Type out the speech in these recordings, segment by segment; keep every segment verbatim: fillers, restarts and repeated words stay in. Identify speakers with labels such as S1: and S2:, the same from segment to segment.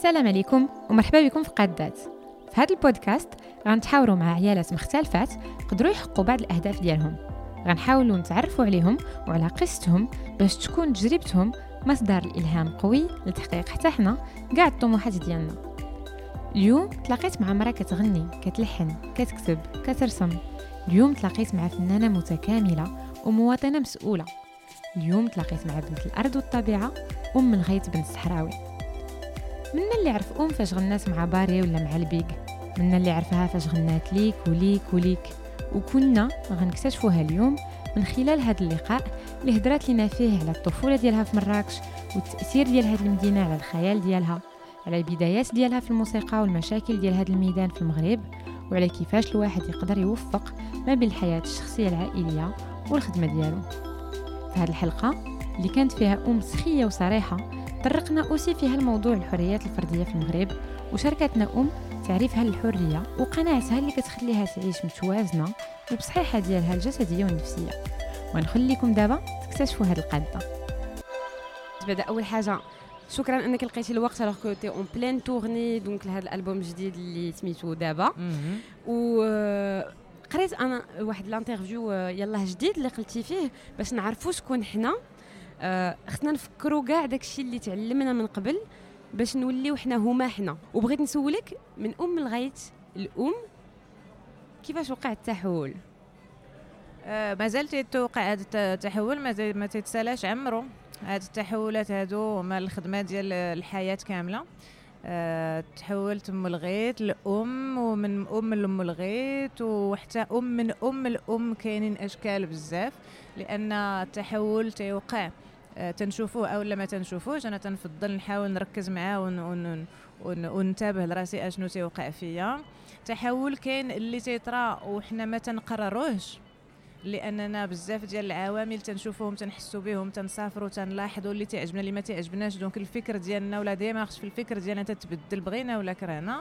S1: السلام عليكم ومرحبا بكم في قادات. في هذا البودكاست غنتحاوروا مع عيالات مختلفات قدروا يحققوا بعض الأهداف ديالهم. غنحاولوا نتعرفوا عليهم وعلى قصتهم باش تكون تجربتهم مصدر الإلهام قوي لتحقيق حتى حنا كاع الطموحات ديالنا. اليوم تلاقيت مع مرأة كتغني، كتلحن، كتكتب، كترسم. اليوم تلاقيت مع فنانة متكاملة ومواطنة مسؤولة. اليوم تلاقيت مع بنت الأرض والطبيعة، أم من غيث بن الصحراوي. منا اللي عرف أم فاش غنات مع باري ولا مع البيك، منا اللي عرفها فاش غنات ليك وليك وليك. وكنا غنكتشفوها اليوم من خلال هذا اللقاء اللي هدرات لنا فيه على الطفولة ديالها في مراكش والتأثير ديال هذه المدينة على الخيال ديالها، على البدايات ديالها في الموسيقى والمشاكل ديال هذا الميدان في المغرب، وعلى كيفاش الواحد يقدر يوفق ما بين الحياة الشخصية العائلية والخدمة ديالو. في هذه الحلقة اللي كانت فيها أم سخية وصريحة طرقنا أوسي فيها الموضوع الحريات الفردية في المغرب، وشاركتنا أم تعريفها للحرية وقناعتها اللي كتخليها تعيش متوازنة وبصحيحة ديالها الجسدية والنفسية. ونخليكم دابا تكتشفوا هذه القادة.
S2: بدا اول حاجه شكرا انك لقيتي الوقت alors que tu es en pleine tournée donc لهذا الالبوم الجديد اللي سميتو دابا. و قريت انا واحد الانترفيو يلاه جديد اللي قلتي فيه باش نعرفوا شكون حنا، خصنا نفكروا كاع داكشي اللي تعلمنا من قبل باش نوليو حنا هما حنا. وبغيت نسولك من ام الغيث الام كيفاش وقع التحول؟
S3: آه مازال تيتوقع هذا التحول، ما تيتسالاش عمرو. هاد التحولات هادو هما الخدمه ديال الحياه كامله. أه تحولت ام الغيث لام، ومن ام لام الغيث، وحتى ام من ام الام. كاينين اشكال بزاف لان التحول تيوقع أه تنشوفوه او لا ما تنشوفوش. انا تنفضل نحاول نركز معاه ون ون ون وننتبه لراسي اشنو تيوقع فيا. تحول كاين اللي تيطرا وحنا ما تنقرروهش، لاننا بزاف ديال العوامل تنشوفوهم تنحسوا بهم تنسافروا تنلاحظوا اللي تعجبنا اللي ما تعجبناش. دونك الفكر ديالنا ولا ديما خص في الفكر ديالنا تتبدل بغينا ولا كرهنا.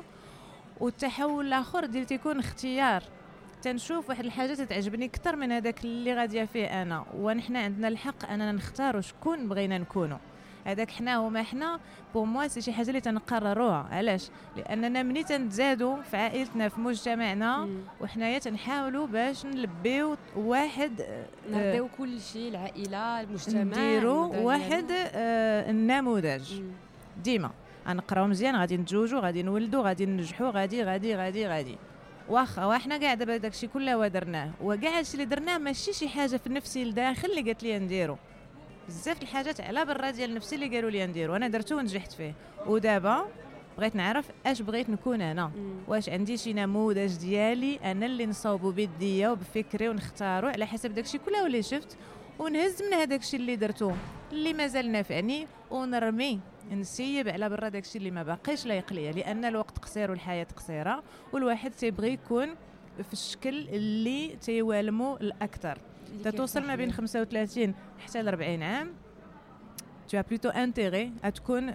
S3: والتحول الاخر ديال تيكون اختيار، تنشوف واحد الحاجه تتعجبني اكثر من هذاك اللي غاديه فيه انا، ونحن عندنا الحق اننا نختاروا شكون بغينا نكونوا. هذاك حنا وما حنا بو موا سي شي حاجه اللي تنقرروها. علاش؟ لاننا ملي تنتزادوا في عائلتنا في مجتمعنا وحنايا تنحاولوا باش نلبيو واحد
S2: نعطيو كل شيء العائله المجتمع،
S3: نديروا واحد آه النموذج. ديما غنقراو مزيان، غادي نتزوجوا، غادي نولدوا، غادي ننجحوا، غادي غادي غادي غادي واخا وحنا كاع دابا داكشي كله درناه، وكاع هادشي اللي درناه ماشي شي حاجه في نفسي لداخل اللي قالت لي نديرو. بزاف الحاجات على برا ديال نفسي اللي قالوا لي نديرو انا درتو ونجحت فيه. ودابا بغيت نعرف اش بغيت نكون انا، واش عندي شي نموذج ديالي انا اللي نصاوبو بيديا وبفكري ونختارو على حسب داكشي كله اللي شفت، ونهز من هذاك الشيء اللي درتو اللي مازال نافعني ونرمي نسيب على برا داكشي اللي ما باقيش لايق ليا. لان الوقت قصير والحياه قصيره، والواحد تيبغي يكون في الشكل اللي تيوالمو الاكثر. تتوصل ما بين خمسة وثلاثين حتى ل أربعين عام tu as plutôt intérêt à تكون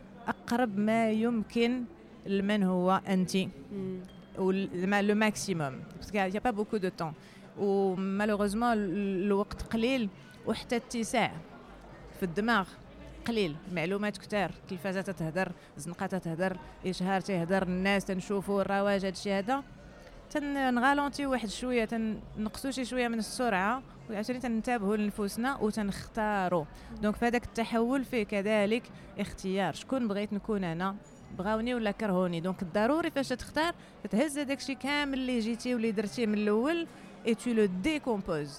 S3: اقرب ما يمكن لمن هو انت او لو ماكسيموم، باسكو يا با بوكو دو طون و مالوغوزمون الوقت قليل، وحتى الاتساع في الدماغ قليل. المعلومات كثار، التلفازه تتهدر، الزنقه تتهدر، اشهار تهدر، الناس تنشوفوا الرواج. هادشي هذا تنغالونتي واحد شويه، تنقصوا شي شويه من السرعه، وعشان تنتبهوا لنفوسنا وتنختاروا. دونك فهذاك التحول فيه كذلك اختيار. شكون بغيت نكون انا، بغاوني ولا كرهوني. دونك الضروري فاش تختار تهز هذاك الشيء كامل اللي جيتي واللي درتيه من الاول اي تو لو ديكومبوز،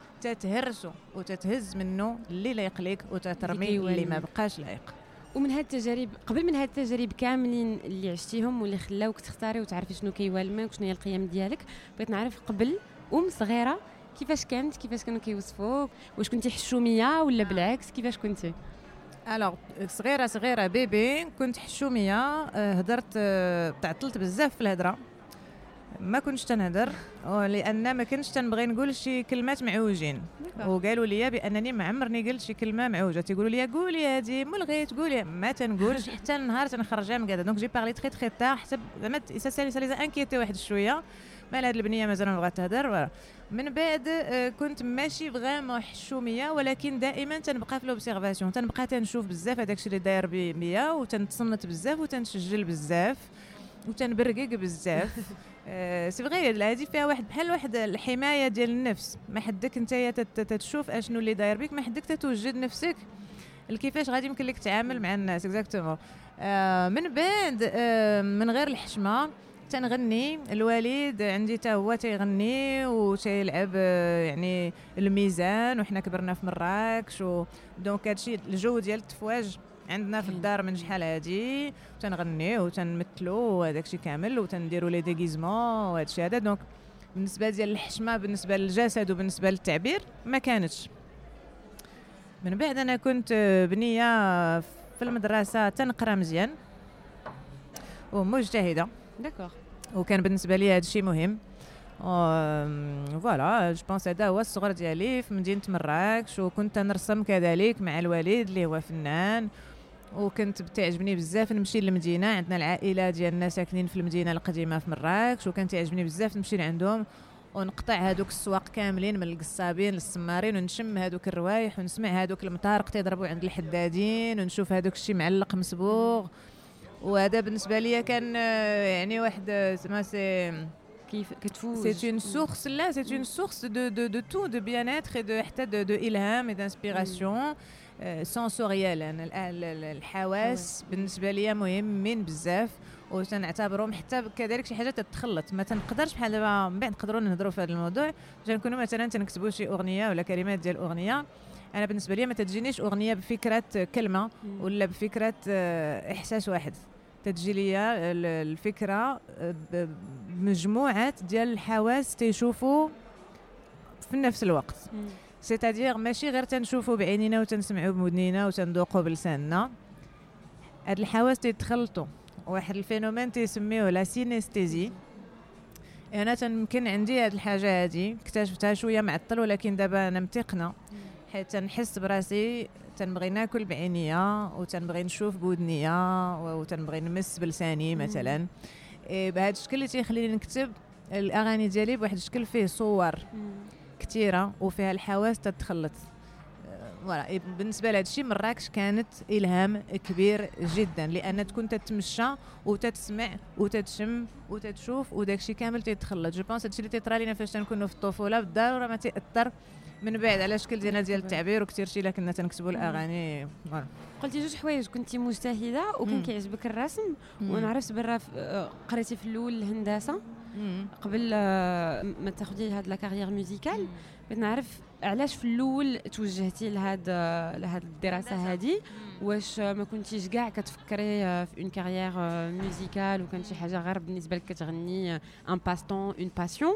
S3: تتهرسو وتتهز منه اللي لايق ليك وتترمي اللي ما بقاش لايق.
S2: ومن هاد التجارب، قبل من هاد التجارب كاملين اللي عشتيهم واللي خلاوك تختاري وتعرفي شنو كيوالمك وشنو هي القيم ديالك، بغيت نعرف قبل ام صغيره كيفاش كانت، كيفاش كانوا كيوصفوك، واش كنتي حشوميه ولا بالعكس كيفاش كنتي؟
S3: الوغ صغيره صغيره بيبي كنت حشوميه. هدرت، تعطلت بزاف في الهضره، ما كنتش تنهضر لان ما كنتش تنبغي نقول شي كلمات معوجين. وقالوا لي بانني ما عمرني قلت شي كلمه معوجه. تيقولوا لي قولي هذه ملغي تقولي، ما تنقولش حتى النهار تنخرجها من كذا. دونك جي بارلي تري تري تار، حتى زعما سا سالي سالي انكيتي واحد شويه. مال هاد البنيه مازال ما بغات تهضر. من بعد كنت ماشي فريمون حشوميه، ولكن دائما تنبقى في لوبسيرفاسيون، تنبقى تنشوف بزاف هذاك الشيء اللي داير بيا، وتنتصنت بزاف وتنسجل بزاف وتنبرقق بزاف. سي فغي هذه فيها واحد بحال واحد الحمايه ديال النفس، ما حدك نتايا تتشوف اشنو اللي داير بك، ما حدك تتوجد نفسك كيفاش غادي يمكن لك تعامل مع الناس اكزاكتومون. آه من بعد آه من غير الحشمه تنغني، الوالد عندي تا هو تيغني وتيلعب آه يعني الميزان، وحنا كبرنا في مراكش و دونك هادشي الجو ديال التفواج عندنا في الدار من شحال هادي، تنغنيو وتنمثلوا وهذاك الشيء كامل وتنديروا لي ديغيزمون وهذا الشيء هذا. دونك بالنسبه ديال الحشمه بالنسبه للجسد وبالنسبه للتعبير ما كانتش. من بعد انا كنت بنيه في المدرسه تنقرا مزيان ومجتهده
S2: داكوغ،
S3: وكان بالنسبه لي هذا الشيء مهم. فوالا جو بونس هذا هو الصغر ديالي في مدينه مراكش. وكنت نرسم كذلك مع الوالد اللي هو فنان، وكنت بتعجبني بزاف نمشي للمدينه، عندنا العائله ديالنا ساكنين في المدينه القديمه في مراكش، وكان تعجبني بزاف نمشي لعندهم ونقطع هذوك السواق كاملين من القصابين للسمارين، ونشم هذوك الروايح ونسمع هذوك المطارق تيضربوا عند الحدادين، ونشوف هذوك الشيء معلق مصبوغ. وهذا بالنسبه لي كان يعني واحد سما سي
S2: كيف كتفوز
S3: سي اون سورس، لا سي اون سورس دو دو دو تو دو بيان اتر دو حتى دو دو الهام اي دانسبيراسيون سونسوريال. انا الحواس بالنسبه لي مهمين بزاف، وتنعتبرهم حتى كذلك شي حاجه تتخلط. ما تنقدرش بحال دابا من بعد نقدروا نهضروا في هذا الموضوع، نكونوا مثلا تنكتبوا شي اغنيه ولا كلمات ديال اغنيه، انا بالنسبه لي ما تجينيش اغنيه بفكره كلمه ولا بفكره احساس واحد، تجي ليا الفكره بمجموعه ديال الحواس تيشوفوا في نفس الوقت. سيتادير ماشي غير تنشوفوا بعينينا وتنسمعوا بودنينا وتندوقوا بلساننا، هاد الحواس تيتخلطوا واحد الفينومين تيسميوه لا سينستيزي. انا تنمكن عندي هاد الحاجه هادي اكتشفتها شويه معطل، ولكن دابا انا متقنه حيت تنحس براسي تنبغي ناكل بعينيا وتنبغي نشوف بودنيا وتنبغي نمس بلساني مثلا. إيه بهذا الشكل اللي تيخليني نكتب الاغاني ديالي بواحد الشكل فيه صور كثيره وفيها الحواس تتخلط. فوالا بالنسبه لهذا الشيء مراكش كانت الهام كبير جدا، لان تكون تتمشى وتتسمع وتتشم وتتشوف وداك الشيء كامل تيتخلط. جو بونس هادشي اللي تيطرا لينا فاش تنكونوا في الطفوله بالضروره ما تاثر من بعد على شكل ديالنا ديال التعبير، وكثير شي كنا تنكتبوا الاغاني.
S2: قلتي جوج حوايج، كنتي مجتهده وكان كيعجبك الرسم، وانا عرفت برا قريتي في الاول الهندسه قبل ما تاخذي هاد لا كارير ميوزيكال. بغيت نعرف علاش في الاول توجهتي لهاد لهاد الدراسه هذه، واش ما كنتيش كاع كتفكري في اون كارير ميوزيكال وكان شي حاجه غير بالنسبه لك كتغني ان باستون اون باسيون،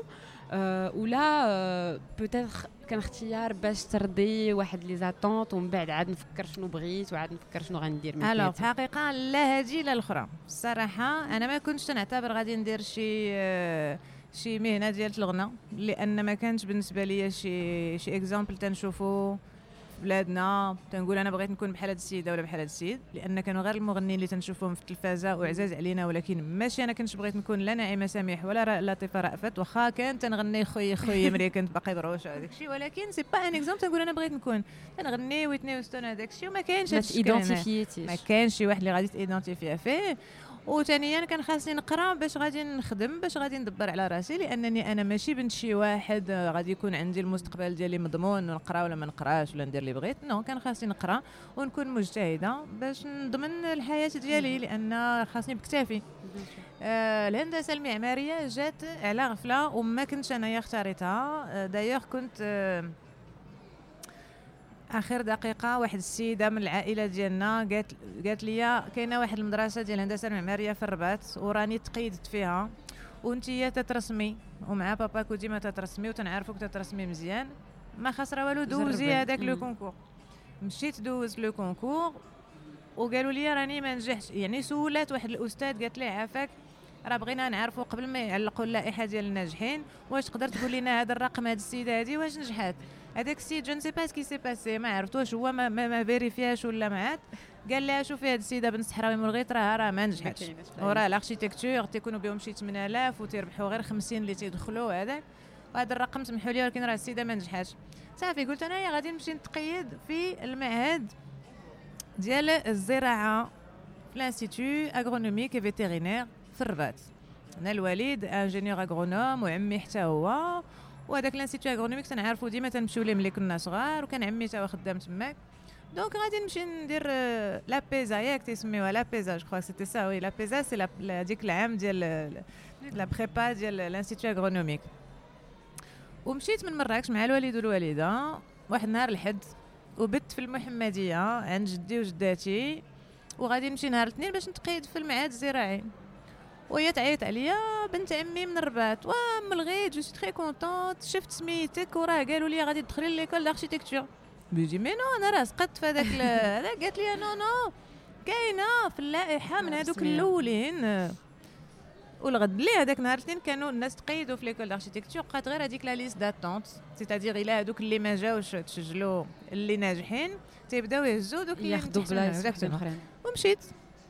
S2: ولا بوتيتر كان اختيار باش ترضي واحد لي زاتونط ومن بعد عاد نفكر شنو بغيت وعاد نفكر شنو غندير من
S3: الوغ في الحقيقه لا هذه لا الاخرى. الصراحه انا ما كنتش تنعتبر غادي ندير شي شي مهنه ديال الغناء، لان ما كانش بالنسبه لي شي شي اكزامبل تنشوفو في بلادنا تنقول انا بغيت نكون بحال هاد السيده ولا بحال هاد السيد، لان كانوا غير المغنيين اللي تنشوفهم في التلفازه وعزاز علينا، ولكن ماشي انا كنتش بغيت نكون لا نعيمه سميح ولا لطيفه رأفت، واخا كانت تنغني خويا خويا مريا كنت باقي بروش هذاك الشيء، ولكن سي با ان اكزامبل تنقول انا بغيت نكون تنغني ويتني وستون هذاك الشيء، وما كاينش
S2: هذا الشيء ما
S3: كاينش شي واحد اللي غادي تيدونتيفيا فيه. وثانيا كان خاصني نقرا باش غادي نخدم باش غادي ندبر على راسي، لانني انا ماشي بنت شي واحد غادي يكون عندي المستقبل ديالي مضمون نقرا ولا ما نقراش ولا ندير اللي بغيت. نو كان خاصني نقرا ونكون مجتهده باش نضمن الحياه ديالي، لان خاصني بكتافي. آه الهندسه المعماريه جات على غفله وما كنتش انايا اختاريتها. آه دايوغ كنت آه اخر دقيقه واحد السيده من العائله ديالنا قالت قالت لي كاينه واحد المدرسه ديال الهندسه المعماريه في الرباط وراني تقيدت فيها وانتي تترسمي ومع باباك وديما تترسمي وتنعرفوك تترسمي مزيان، ما خسره والو دوزي هذاك لو كونكور. مشيت دوز لو كونكور وقالوا لي راني ما نجحتش، يعني سولات واحد الاستاذ قالت ليه عافاك راه بغينا نعرفوا قبل ما يعلقوا اللائحه ديال الناجحين واش تقدر تقول لنا هذا الرقم هذه السيده هذه واش نجحت. هذاك السيد جو نسي با سكي سي باسي ما عرفتوش هو ما ما, ما فيريفياش ولا ما عاد قال لها شوفي هاد السيده بنت الصحراوي من الغيط راه راه ما نجحتش وراه الاركتيكتور تيكونوا بهم شي ثمانية آلاف وتيربحوا غير خمسين اللي تيدخلوا هذاك وهذا الرقم سمحوا لي ولكن راه السيده ما نجحتش. صافي قلت انا غادي نمشي نتقيد في المعهد ديال الزراعه في لانستيتو اغرونوميك اي فيتيرينير في الرباط. انا الوالد انجينيور اغرونوم وعمي حتى هو وهذاك لانستيتو اغرونوميك تنعرفوا ديما تنمشيو ليه ملي كنا صغار وكان عمي تا هو خدام تماك. دونك غادي نمشي ندير لا بيزا ياك تيسميوها لا بيزا جو كخوا سيتي سا وي لا بيزا سي ديك العام ديال لا بريبا ديال لانستيتو اغرونوميك. ومشيت من مراكش مع الوالد والوالده واحد نهار الحد وبت في المحمديه عند جدي وجداتي وغادي نمشي نهار الاثنين باش نتقيد في المعهد الزراعي. وهي تعيط عليا بنت عمي من الرباط وام الغيت جو سي تري كونطونت شفت سميتك وراه قالوا لي غادي تدخلي ليكول داركتيكتور. بيجي مي نو انا راه سقطت في هذاك هذا. قالت لي نو نو كاينه في اللائحه من هذوك الاولين. والغد اللي هذاك نهار الاثنين كانوا الناس تقيدوا في ليكول داركتيكتور بقات غير هذيك لا ليست داتونت سيتادير الى هذوك اللي ما جاوش تسجلوا اللي ناجحين تيبداو يهزوا دوك اللي
S2: ياخذوا بلايص اخرين.
S3: ومشيت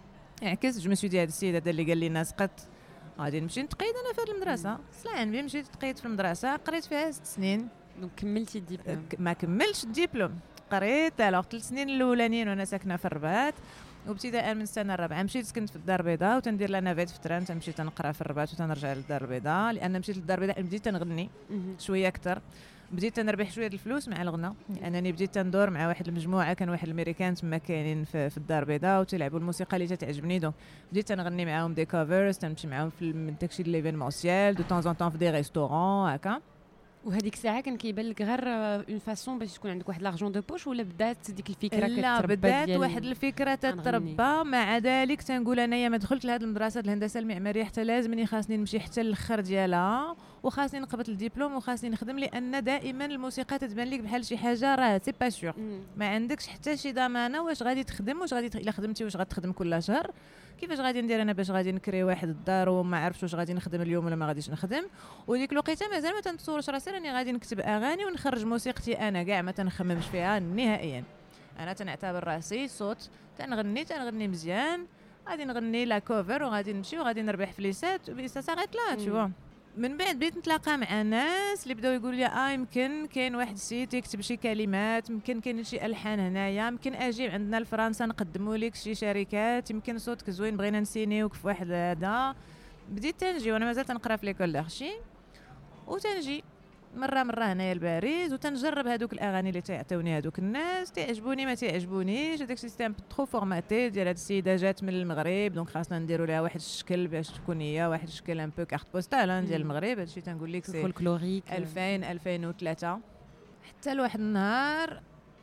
S3: عكس جو مسيو دي هذا السيد هذا اللي قال لي الناس قد غادي نمشي نتقيد انا في هذه المدرسه. سلام بي مشيت تقيد في المدرسه قريت فيها ست سنين.
S2: دونك كملتي الدبلوم؟
S3: ما كملتش الدبلوم قريت الوغ ثلاث سنين الاولانيين وانا ساكنه في الرباط وابتداء من السنه الرابعه مشيت سكنت في الدار البيضاء وتندير لنا فيت في التران تمشي تنقرا في الرباط وتنرجع للدار البيضاء لان مشيت للدار البيضاء بديت تنغني شويه اكثر بديت تنربح شويه الفلوس مع الغنى لانني بديت تندور مع واحد المجموعه كان واحد الامريكان تما كاينين في, في الدار البيضاء وتلعبوا الموسيقى اللي تعجبني دونك بديت تنغني معاهم دي كوفرز تمشي معاهم في داكشي ليفينمونسيال دو طون ان طون في دي ريستورون هكا.
S2: وهذيك الساعه كان كيبان لك غير اون فاسون باش تكون عندك واحد لارجون دو بوش ولا بدات ديك الفكره كتربى؟
S3: لا بدات واحد الفكره تتربى. مع ذلك تنقول انايا ما دخلت لهاد المدرسه الهندسه المعماريه حتى لازمني خاصني نمشي حتى الاخر ديالها وخاصني نقبط الدبلوم وخاصني نخدم لان دائما الموسيقى تتبان لك بحال شي حاجه راه سي با سور ما عندكش حتى شي ضمانه واش غادي تخدم واش غادي الا خدمتي واش غتخدم كل شهر. كيفاش غادي ندير انا باش غادي نكري واحد الدار وما عرفتش واش غادي نخدم اليوم ولا ما غاديش نخدم. وديك الوقيته مازال ما تنتصورش راسي راني غادي نكتب اغاني ونخرج موسيقتي انا كاع ما تنخممش فيها نهائيا. انا تنعتبر راسي صوت تنغني تنغني مزيان غادي نغني لا كوفر وغادي نمشي وغادي نربح فليسات وبيسا صارت لا تشوف. من بعد بديت نتلاقى مع ناس اللي بداو يقولوا لي اه يمكن كاين واحد السيت يكتب شي كلمات يمكن كاين شي الحان هنايا يمكن اجي عندنا لفرنسا نقدموا لك شي شركات يمكن صوتك زوين بغينا نسينيوك في واحد هذا. بديت تنجي وانا مازال تنقرا في ليكول دارشي وتنجي مره مره هنايا لباريس وتنجرب هذوك الاغاني اللي تيعطيوني هذوك الناس تعجبوني ما تعجبونيش. هذاك السيستم ترو فورماتي ديال هاد السيده جات من المغرب دونك خاصنا نديروا لها واحد الشكل باش تكون هي واحد الشكل ان بو كارت بوستال ديال المغرب. هادشي تنقول لك سي
S2: فولكلوريك
S3: ألفين ألفين وثلاثة حتى لواحد النهار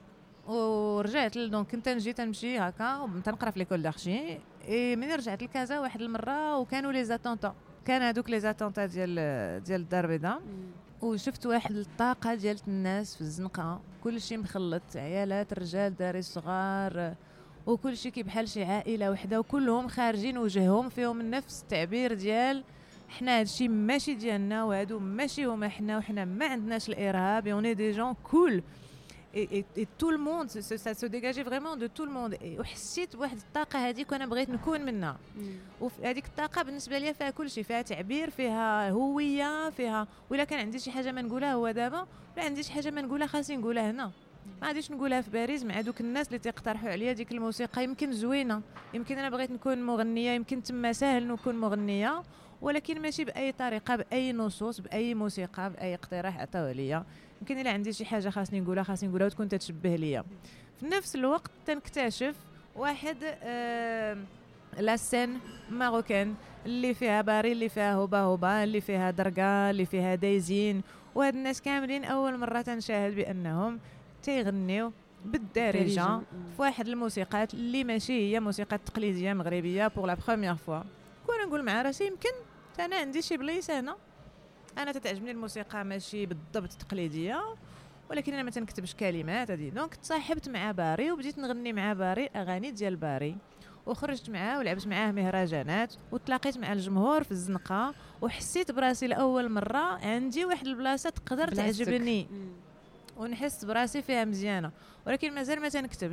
S3: ورجعت دونك كنت نجي تنمشي هكا تنقرا في ليكول دارشي. اي ملي رجعت لكازا واحد المره وكانوا لي زاتونطا كان هذوك لي زاتونطا ديال ديال الدار البيضاء وشفت واحد الطاقه ديال الناس في الزنقه كلشي مخلط عيالات رجال داري صغار وكلشي كي بحال شي عائله وحده وكلهم خارجين وجههم فيهم نفس التعبير ديال حنا هادشي ماشي ديالنا وهادو ماشي هما حنا وحنا ما عندناش الارهاب اوني دي جون كول et et tout le monde ça se dégageait vraiment de tout le monde وحسيت بواحد الطاقه هذيك وانا بغيت نكون منها. وهذيك الطاقه بالنسبه لي فيها كل شيء فيها تعبير فيها هويه فيها ولا كان عندي شي حاجه ما نقولها هو دابا ولا عندي شي حاجه ما نقولها خاصني نقولها هنا ما غاديش نقولها في باريس مع دوك الناس اللي تيقترحوا عليا ديك الموسيقى يمكن زوينه يمكن انا بغيت نكون مغنيه يمكن تما ساهل نكون مغنيه ولكن ماشي باي طريقه باي نصوص باي موسيقى باي اقتراح عطاوه ليا. يمكن الا عندي شي حاجه خاصني نقولها خاصني نقولها وتكون تتشبه ليا. في نفس الوقت تنكتشف واحد آه لا سين ماروكان اللي فيها باري اللي فيها هوبا هوبا اللي فيها درقا اللي فيها دايزين وهاد الناس كاملين اول مره تنشاهد بانهم تيغنيو بالدارجه في واحد الموسيقات اللي ماشي هي موسيقى تقليديه مغربيه بور لا بروميير فوا. كون نقول مع راسي يمكن انا عندي شي بليصه هنا انا تتعجبني الموسيقى ماشي بالضبط تقليديه ولكن انا ما تنكتبش كلمات هذه. دونك تصاحبت مع باري وبديت نغني مع باري اغاني ديال باري وخرجت معاه ولعبت معاه مهرجانات وتلاقيت مع الجمهور في الزنقه وحسيت براسي لاول مره عندي واحد البلاصه تقدر تعجبني ونحس براسي فيها مزيانه ولكن مازال ما تنكتبش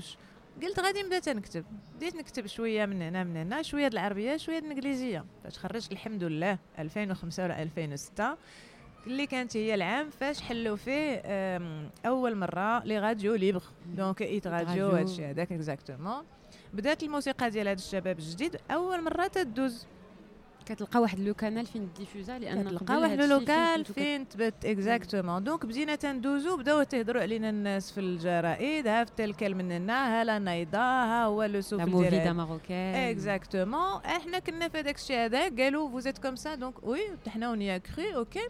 S3: قلت غادي نبدا تنكتب. بديت نكتب شويه من هنا من هنا، شويه د العربيه شويه د الانجليزيه. فاش خرجت الحمد لله ألفين وخمسة ولا ألفين وستة اللي كانت هي العام فاش حلوا فيه اول مره لي راديو ليبر، دونك ايت راديو هادشي هذاك اكزاكتومون. بدات الموسيقى ديال هاد الشباب الجديد اول مره تدوز،
S2: كتلقى واحد لو كانال فين ديفوزا، لان
S3: كتلقى واحد لو لوكال فين تبت اكزاكتومون. دونك بدينا تندوزو، بداو تهضروا علينا الناس في الجرائد، ها في تلك مننا هلا نايضا، ها هو لو سوف ديال
S2: موفيدا ماروكان
S3: اكزاكتومون. احنا كنا في هذاك الشيء هذا، قالوا فوزيت كوم سا دونك وي حنا ونيا كري اوكي.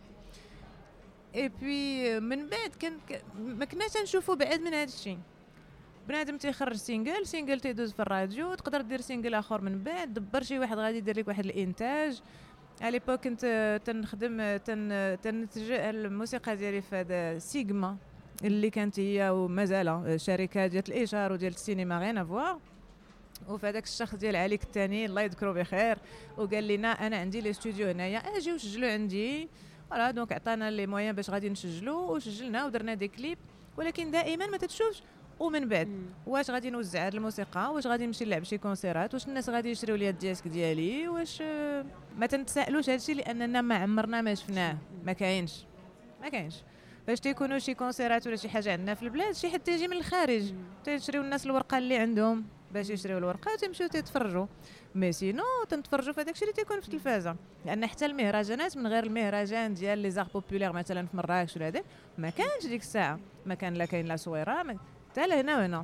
S3: اي بي من بعد كان ما كناش نشوفوا بعد من هذا الشيء. بنادم تيخرج سينجل سينجل تيدوز في الراديو، تقدر دير سينجل اخر من بعد، دبر شي واحد غادي يدير لك واحد الانتاج. على ليبوك كنت تنخدم تن تنتج الموسيقى ديالي في هذا سيغما اللي كانت هي ومازال شركه ديال الاشهار وديال السينما غير افوار. وفي هذاك الشخص ديال عليك الثاني الله يذكره بخير، وقال لنا انا عندي لي استوديو هنايا اجيو سجلوا عندي. فوالا دونك عطانا لي مويان باش غادي نسجلوا، وسجلنا ودرنا دي كليب. ولكن دائما ما تتشوفش ومن بعد مم. واش غادي نوزع هذه الموسيقى، واش غادي نمشي نلعب شي كونسيرات، واش الناس غادي يشريو لي الديسك ديالي، واش ما تنتسائلوش هادشي لاننا ما عمرنا ما شفناه، ما كاينش ما كاينش. فاش تيكونوا شي كونسيرات ولا شي حاجه عندنا في البلاد، شي حد تيجي من الخارج تيشريو الناس الورقه اللي عندهم باش يشريو الورقه وتمشيو تتفرجوا. مي سينو تنتفرجوا في داكشي اللي تيكون في التلفازه، لان حتى المهرجانات من غير المهرجان ديال لي زار بوبولير مثلا في مراكش ولا هذا ما كانش ديك الساعه، ما كان لا كاين لا صويره حتى لهنا وهنا.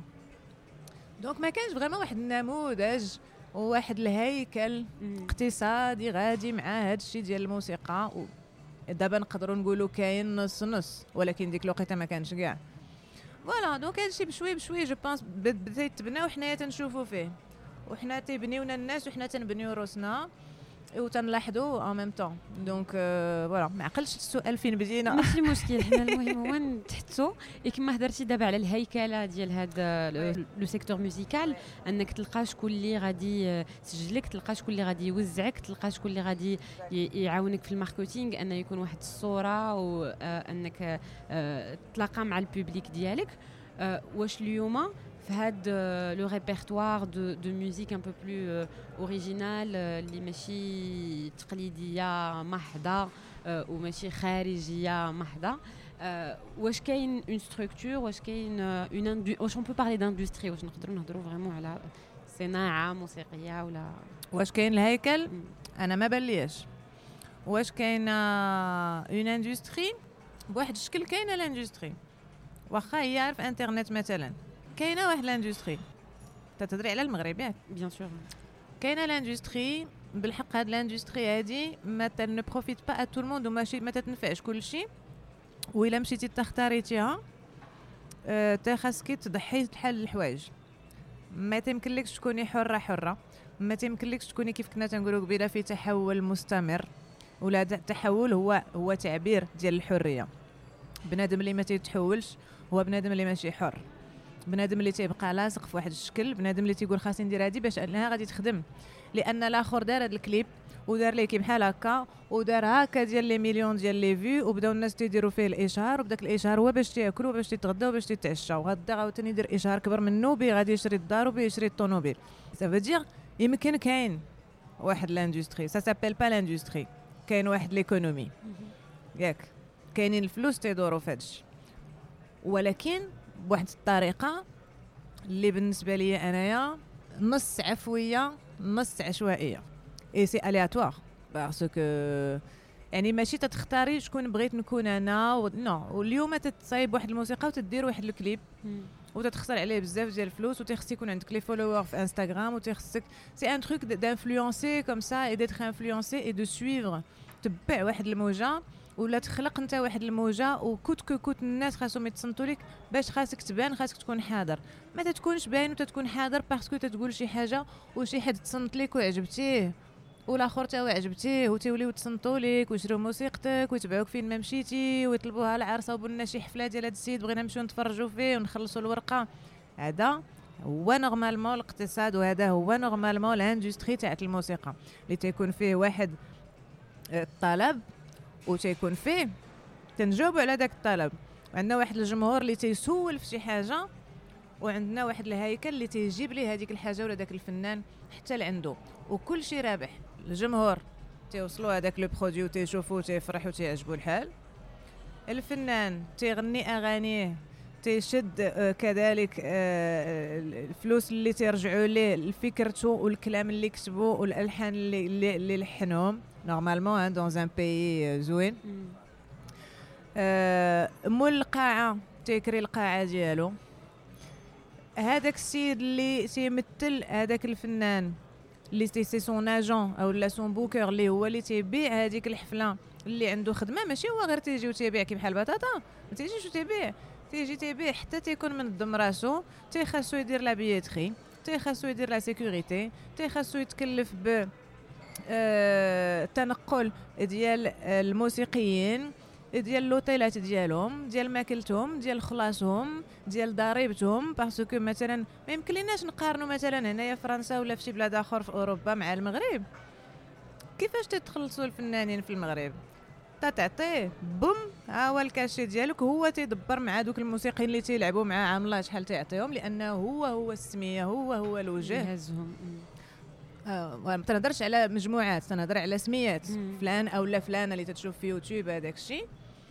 S3: دونك ما كانش فريمون واحد النموذج وواحد الهيكل اقتصادي غادي مع هذا الشيء ديال الموسيقى. دابا نقدروا نقولوا كاين نص نص، ولكن ديك الوقيته ما كانش كاع. فوالا دونك هذا الشيء بشوي بشوي جو بونس بدا يتبنى وحنايا تنشوفوا فيه، وحنا تيبنيونا الناس وحنا تنبنيو روسنا وتنلاحظوا ان ميم طون. دونك فوالا ما عقلش السؤال فين بدينا.
S2: ماشي مشكل، حنا المهم هو نتحدثوا كما هضرتي دابا على الهيكله ديال هذا لو سيكتور ميوزيكال، انك تلقى شكون اللي غادي يسجلك، تلقى شكون اللي غادي يوزعك، تلقى شكون اللي غادي يعاونك في الماركتينغ، ان يكون واحد الصوره وانك تلاقى مع البوبليك ديالك. واش اليوم في هذا لو ريبرتوار دو دو ميوزيك ان بو بلو اوريجينال اللي ماشي تقليديه محضه وماشي خارجيه محضه، واش كاين اون ستركتور، واش كاين اون واش اون بو بارلي داندستري، واش نقدروا نهضروا فريمون على صناعه موسيقيه ولا
S3: واش كاين الهيكل؟ انا ما بالياش. واش كاين اون اندستري بواحد الشكل؟ كاينه الاندستري واخا هي عارف انترنت مثلا، كاينه واحد لاندستري تتدري على المغرب ياك
S2: بيان سور. كاينه
S3: لاندستري بالحق، هاد لاندستري هادي ما تن بروفيت با ا تو الموند وماشي ما تتنفعش كلشي. وإلا مشيتي تختاريتيها أه تا خاصك تضحي بحال الحوايج. ما تيمكنلكش تكوني حره حره، ما تيمكنلكش تكوني كيف كنا تنقولوا قبيله في تحول مستمر، ولا التحول هو هو تعبير ديال الحريه. بنادم اللي ما تيتحولش هو بنادم اللي ماشي حر، بنادم اللي تيبقى لاصق في واحد الشكل، بنادم اللي تيقول خاصني ندير هادي باش انها غادي تخدم، لان الاخر دار هذا الكليب ودار ليه كي بحال هكا ودار هكا ديال لي مليون ديال لي فيو، وبداو الناس تيديروا فيه الاشهار، وبداك الاشهار هو باش تاكلوا باش تتغداو باش تتعشاو، غدا عاوتاني يدير اشهار كبر منه بي غادي يشري الدار وبي يشري الطوموبيل. سا فو يمكن كاين واحد لاندستري سا سابيل با لاندستري، كاين واحد ليكونومي ياك، كاينين الفلوس تيدوروا في هادشي، ولكن بواحد الطريقه اللي بالنسبه لي انايا نص عفويه نص عشوائيه. اي سي الياتوار باسكو يعني ماشي تتختاري شكون بغيت نكون انا و... نو واليوم تتصايب واحد الموسيقى وتدير واحد الكليب وتتخسر عليه بزاف ديال الفلوس، وتخص يكون عندك لي فولوور في انستغرام، وتخصك سي ان تروك دانفلونسي كوم سا اي ديتر انفلونسي اي دو سويفر، تبع واحد الموجه ولا تخلق انت واحد الموجه، وكوت كو كوت الناس خاصهم يتصنتوا لك باش خاصك تبان، خاصك تكون حاضر. ما تتكونش باين وتتكون حاضر باسكو تتقول شي حاجه وشي حد تصنت لك وعجبتيه والاخر تا عجبتيه وتوليو تصنتوا لك ويشريو موسيقتك ويتبعوك فين ما مشيتي ويطلبوها العرسه وبنا شي حفله ديال هذا السيد بغينا نمشيو نتفرجوا فيه ونخلصوا الورقه. هذا هو نورمالمون الاقتصاد، وهذا هو نورمالمون الاندستري تاع الموسيقى اللي تيكون فيه واحد الطلب وتيكون فيه تنجاوبوا على داك الطلب، عندنا واحد الجمهور اللي تيسول في شي حاجه وعندنا واحد الهيكل اللي تيجيب ليه هذيك الحاجه ولا داك الفنان حتى لعنده، وكل شيء رابح. الجمهور تيوصلوا هذاك لو برودوي وتيشوفوا تيفرحوا تيعجبوا الحال، الفنان تيغني اغانيه تيشد آه كذلك آه الفلوس اللي تيرجعوا ليه فكرته والكلام اللي كتبوا والالحان اللي اللي, اللي لحنهم نورمالمون دون ان بيي زوين. آه مول القاعه تيكري القاعه ديالو، هذاك السيد اللي تيمثل هذاك الفنان اللي سي سون اجون او لا سون بوكر اللي هو اللي تيبيع هذيك الحفله اللي عنده خدمه، ماشي هو غير تيجي وتيبيع كي بحال البطاطا، ما تيجيش وتيبيع، تيجي تيبيع حتى تيكون منظم راسو، تيخاصو يدير لا بيتري، تيخاصو يدير لا سيكوريتي، تيخاصو يتكلف ب آه التنقل ديال الموسيقيين، ديال لوطيلات ديالهم، ديال ماكلتهم، ديال خلاصهم، ديال ضريبتهم. باسكو مثلا ما يمكن ليناش نقارنوا مثلا هنايا فرنسا ولا في شي بلاد اخر في اوروبا مع المغرب. كيفاش تتخلصوا الفنانين في المغرب؟ تعطيه بوم ها هو الكاشي ديالك، هو تيدبر مع دوك الموسيقيين اللي تيلعبوا معاه عامله شحال تعطيهم، لانه هو هو السميه، هو هو الوجه
S2: يهزهم.
S3: اه ما تنهضرش على مجموعات، تنهضر على سميات. مم. فلان او لا فلانه اللي تتشوف في يوتيوب هذاك الشيء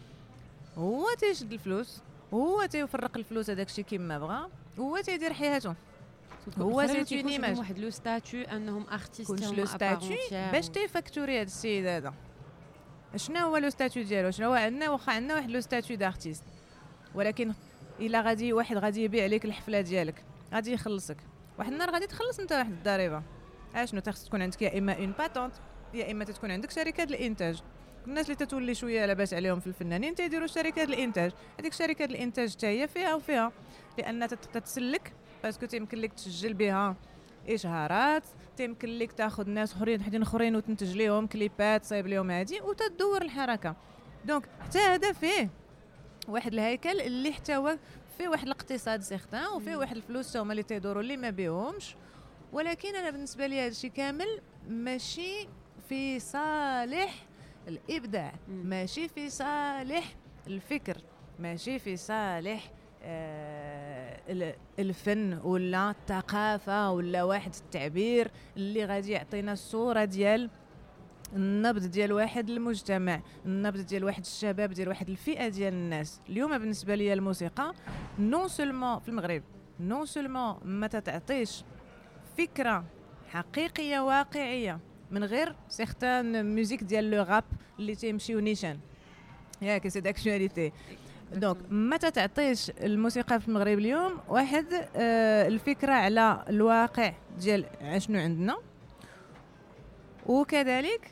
S3: هو تيشد الفلوس، هو تيفرق الفلوس هذاك الشيء كيما بغا، هو تيدير حياته، هو تيتوني ماج
S2: واحد لو ستاتيو انهم ارتيست
S3: كلش لو ستاتيو باش تيفاكتوري هذا السيد هذا. شنو هو لو ستاتيو ديالو؟ شنو هو عندنا؟ واخا عندنا واحد لو ستاتيو دارتيست، ولكن الا غادي واحد غادي يبيع عليك الحفله ديالك غادي يخلصك واحد النهار، غادي تخلص انت واحد الضريبه. اشنو تخص تكون عندك يا اما اون باتونت يا اما تكون عندك شركه الانتاج. الناس اللي تتولي شويه لاباس عليهم في الفنانين تيديروا شركه الانتاج، هذيك شركه الانتاج حتى هي فيها وفيها، لان تتسلك باسكو تيمكن لك تسجل بها اشهارات، تيمكن لك تاخذ ناس اخرين حدين اخرين وتنتج لهم كليبات صايب لهم هادي وتدور الحركه. دونك حتى هذا فيه واحد الهيكل اللي حتى هو فيه واحد الاقتصاد سيغتان وفيه واحد الفلوس هما اللي تيدوروا اللي ما بيهمش. ولكن انا بالنسبه لي هذا الشيء كامل ماشي في صالح الابداع، ماشي في صالح الفكر، ماشي في صالح آه الفن ولا الثقافه ولا واحد التعبير اللي غادي يعطينا الصوره ديال النبض ديال واحد المجتمع، النبض ديال واحد الشباب، ديال واحد الفئه ديال الناس. اليوم بالنسبه لي الموسيقى نون سولمون في المغرب نون سولمون ما تعطيش فكره حقيقيه واقعيه من غير سيغتان ميوزيك ديال لو راب اللي تيمشيو نيشان ياك سي داكشواليتي. دونك ما تعطيش الموسيقى في المغرب اليوم واحد آه الفكره على الواقع ديال شنو عندنا، وكذلك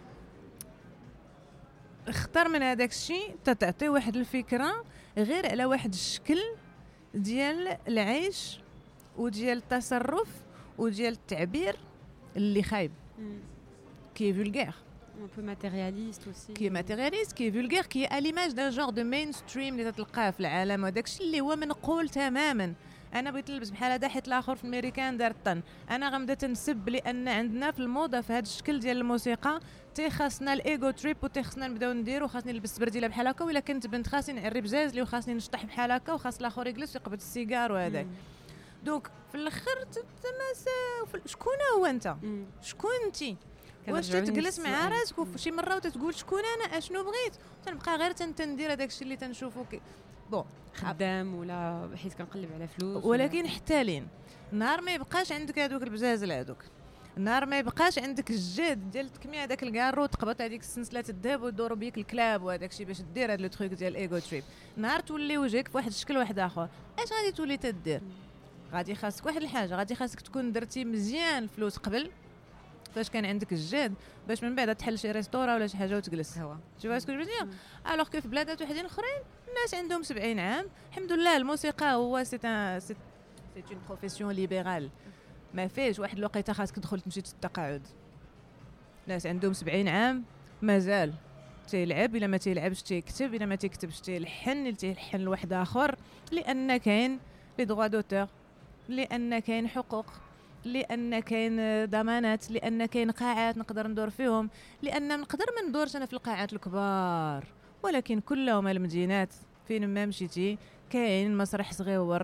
S3: اختار من هذاك الشيء تعطي واحد الفكره غير على واحد الشكل ديال العيش وديال التصرف وديال التعبير اللي خايب كي فولغير
S2: un peu matérialiste aussi
S3: كي ماتيرياليست كي فولغير كي à l'image d'un genre de mainstream اللي تلقاه في العالم، وداك الشيء اللي هو منقول تماما. انا بغيت نلبس بحال هذا حيت الاخر في الامريكان دار الطن، انا غنبدا تنسب لان عندنا في الموضه في هذا الشكل ديال الموسيقى تيخاصنا الايجو تريب وتيخصنا نبداو نديرو، خاصني نلبس برديله بحال هكا، ولا كنت بنت خاصني نعري بزاز لي وخاصني نشطح بحال هكا وخاص الاخر يجلس ويقبض السيجار وهذاك. دونك في الاخر شكون هو انت؟ شكون انتي؟ واش تجلس مع راسك وشي مره وتتقول شكون انا اشنو بغيت؟ تنبقى غير تندير هذاك الشيء اللي تنشوفو بون
S2: خدام ولا حيت كنقلب على فلوس،
S3: ولكن حتى لين نهار ما يبقاش عندك هذوك البزازل هذوك، نهار ما يبقاش عندك الجهد ديال تكمي هذاك الكارو تقبط هذيك السلسله الذهب ويدوروا بيك الكلاب وهذاك الشيء باش دير هذا لو تروك ديال الايجو تريب، نهار تولي وجهك في واحد الشكل واحد اخر اش غادي تولي تدير؟ غادي خاصك واحد الحاجه، غادي خاصك تكون درتي مزيان الفلوس قبل فاش كان عندك الجهد باش من بعد تحل شي ريستورا ولا شي حاجه وتجلس هوا شوف اسكو جو دير. الوغ كو في بلادات وحدين اخرين الناس عندهم سبعين عام الحمد لله الموسيقى هو سي ان سي اون بروفيسيون ليبرال، ما فيش واحد الوقيته خاصك تدخل تمشي تتقاعد. ناس عندهم سبعين عام مازال تيلعب، الا ما تيلعبش تيكتب، الا ما تيكتبش تيلحن، اللي تيلحن لواحد اخر، لان كاين لي دروا دوتور، لان كاين حقوق، لان كاين ضمانات، لان كاين قاعات نقدر ندور فيهم، لان نقدر ما ندورش انا في القاعات الكبار، ولكن كلهم المدينات فين ما مشيتي كاين مسرح صغيور،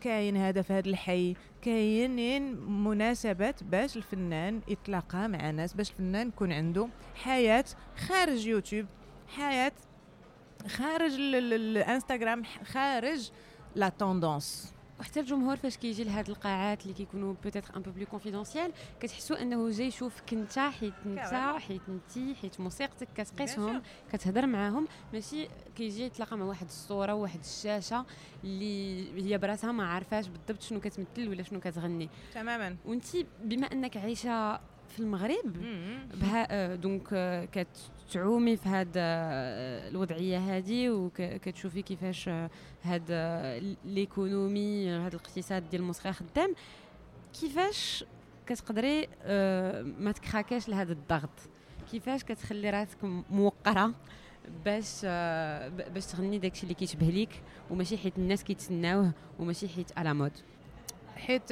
S3: كاين هدف هذا الحي، كاينين مناسبات باش الفنان يتلاقى مع ناس، باش الفنان يكون عنده حياة خارج يوتيوب، حياة خارج الانستغرام، خارج لا توندونس.
S2: وحتى الجمهور فاش كيجي لهاد القاعات اللي كيكونوا بوتيتر ان بو بلو كونفيدونسيال كتحسوا انه جاي يشوفك انت، حيت انت حيت انتي حيت موسيقتك كتقيسهم، كتهضر معاهم، ماشي كيجي يتلاقى مع واحد الصوره وواحد الشاشه اللي هي براسها ما عارفاش بالضبط شنو كتمثل ولا شنو كتغني تماما. وانتي بما انك عايشه في المغرب بها دونك كتعومي في هذا الوضعيه هذه وكتشوفي كيفاش هذا ليكونومي، هذا الاقتصاد ديال الموسيقى خدام، كيفاش كتقدري ما تكراكاش لهذا الضغط؟ كيفاش كتخلي راسك موقره باش باش تغني داكشي اللي كيشبه ليك، وماشي حيت الناس كيتسناوه وماشي حيت على مود؟
S3: حيت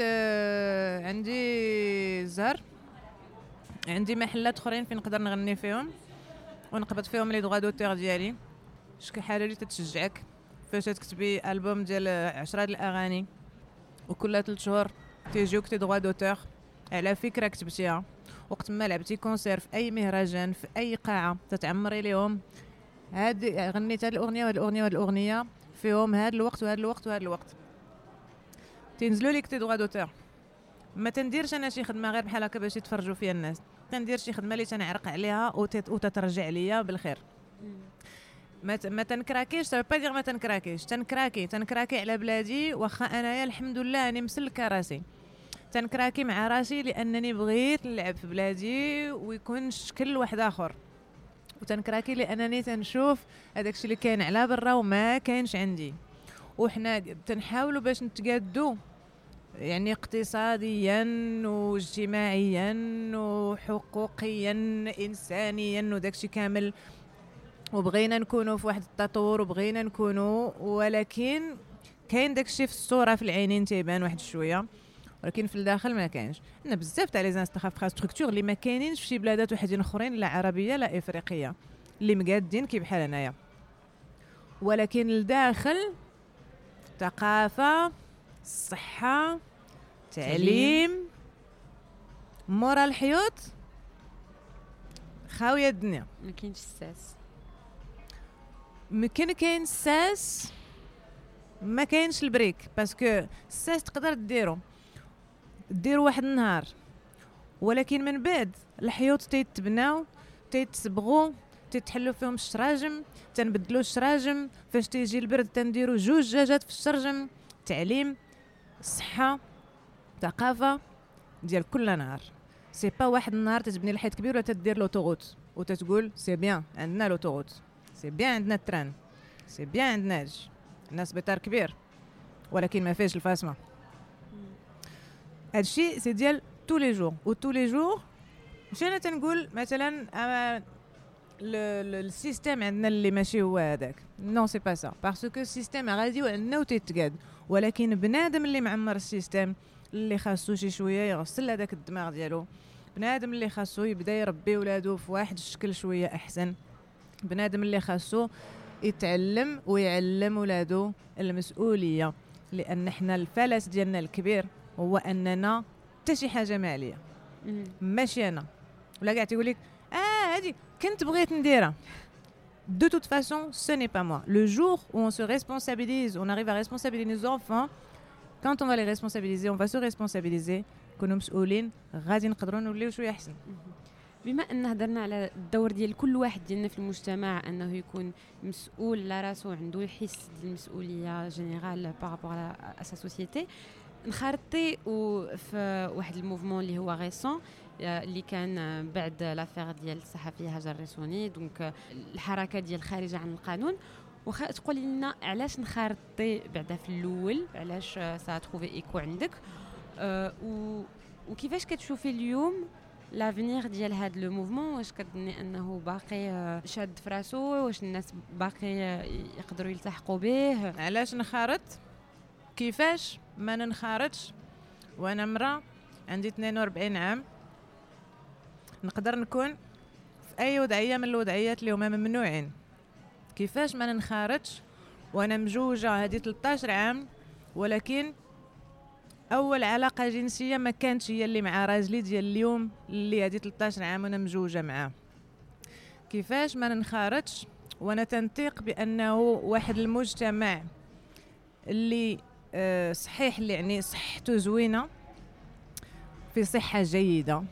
S3: عندي زهر، عندي محلات اخرين فين نقدر نغني فيهم ونقبض فيهم لي دغوا دوتور ديالي. شكون حاجه اللي تتشجعك فاش تكتبي البوم ديال عشرة ديال الاغاني وكل ثلاث شهور تيجيوك تي دغوا دوتور على فكره كتبتيها، وقت ما لعبتي كونسير في اي مهرجان في اي قاعه تتعمري ليهم هاد غنيت هاد الاغنيه وهاد الاغنيه وهاد الاغنيه فيهم هاد الوقت وهاد الوقت وهاد الوقت، تنزلوا لك تي دغوا دوتور. ما تنديرش انا شي خدمه غير بحال هكا باش يتفرجوا فيها الناس، تندير شي خدمه اللي تنعرق عليها وتترجع ليا بالخير. ما ما تنكراكيش، سا با دير ما تنكراكيش، تنكراكي تنكراكي على بلادي، واخا انايا الحمد لله اني مسلكه راسي، تنكراكي مع راسي لانني بغيت نلعب في بلادي ويكون شكل واحد اخر، وتنكراكي لانني تنشوف هذاك الشيء اللي كاين على برا وما كاينش عندي، وحنا تنحاولوا باش نتقادوا يعني اقتصاديا واجتماعيا وحقوقيا انسانيا وداكشي كامل، وبغينا نكونوا في واحد التطور وبغينا نكونوا، ولكن كاين داكشي في الصوره في العينين تيبان واحد شويه، ولكن في الداخل ما كاينش. عندنا بزاف تاع لي انفراستركتور اللي ما كاينينش في شي بلادات وحدين اخرين، لا عربيه لا افريقيه، اللي مقادين كي بحال هنايا، ولكن الداخل ثقافه، الصحة، تعليم، مورا الحيوط خاوية الدنيا.
S2: ما كاينش الساس،
S3: ممكن كاين الساس ما كاينش البريك، باسكو الساس تقدر ديرو ديرو واحد النهار، ولكن من بعد الحيوط تيتبناو تيتصبغوا تتحلوا فيهم الشراجم، تنبدلوا الشراجم، فاش تيجي البرد تنديروا جوج دجاجات في الشرجم. تعليم، الصحه، ثقافه ديال كل نهار، سي با واحد النهار تتبني الحيط كبير ولا تدير لوطوغوت وتتقول سي بيان عندنا لوطوغوت، سي بيان عندنا التران، سي بيان عندنا هادشي، عندنا سبيطار كبير ولكن ما فيهش الفاسمه. هادشي سي ديال تو لي جور و تو لي جور. مش انا تنقول مثلا السيستم عندنا اللي ماشي هو هذاك، نو سي با سا، باسكو السيستم غادي وعندنا وتيتقاد، ولكن بنادم اللي معمر السيستم اللي خاصو شي شويه يغسل هذاك الدماغ ديالو، بنادم اللي خاصو يبدا يربي ولادو في واحد الشكل شويه احسن، بنادم اللي خاصو يتعلم ويعلم ولادو المسؤوليه، لان احنا الفلس ديالنا الكبير هو اننا حتى شي حاجه ما عليا، ماشي انا ولا كاع تيقول لك اه هادي كنت بغيت نديرها. De toute façon, ce n'est pas moi. Le jour où on se responsabilise, on arrive à responsabiliser nos enfants, quand on va les responsabiliser, on va se responsabiliser كونوا مسؤولين، غادي نقدروا نوليو شويه احسن.
S2: بما ان هضرنا على الدور ديال كل واحد ديالنا في المجتمع انه يكون مسؤول على راسو، عنده يحس ديال المسؤوليه جينيرال بارابور على سا سوسيتي، نخرطي في واحد الموفمون اللي هو غيسون اللي كان بعد لافير ديال الصحفيه هاجر ريسوني، دونك الحركه ديال خارجه عن القانون. واخا تقولي لنا علاش نخرطي بعدا في الاول، علاش سا تروفي ايكو عندك، أه وكيفاش كتشوفي اليوم لافينير ديال هذا لو موفمون؟ واش كتظني انه باقي شاد في راسو؟ واش الناس باقي يقدروا يلتحقوا به؟
S3: علاش نخرط؟ كيفاش ما ننخرطش وانا مرا عندي اثنين وأربعين عام، نقدر نكون في اي وضعيه من الوضعيات اللي هما ممنوعين؟ كيفاش ما ننخرطش وانا مجوجه هذه ثلاثة عشر عام ولكن اول علاقه جنسيه ما كانتش هي اللي مع راجلي ديال اليوم اللي هذه ثلاثة عشر عام وانا مزوجه معاه. كيفاش ما ننخرطش وانا تنطيق بانه واحد المجتمع اللي أه صحيح اللي يعني صحته زوينه في صحه جيده،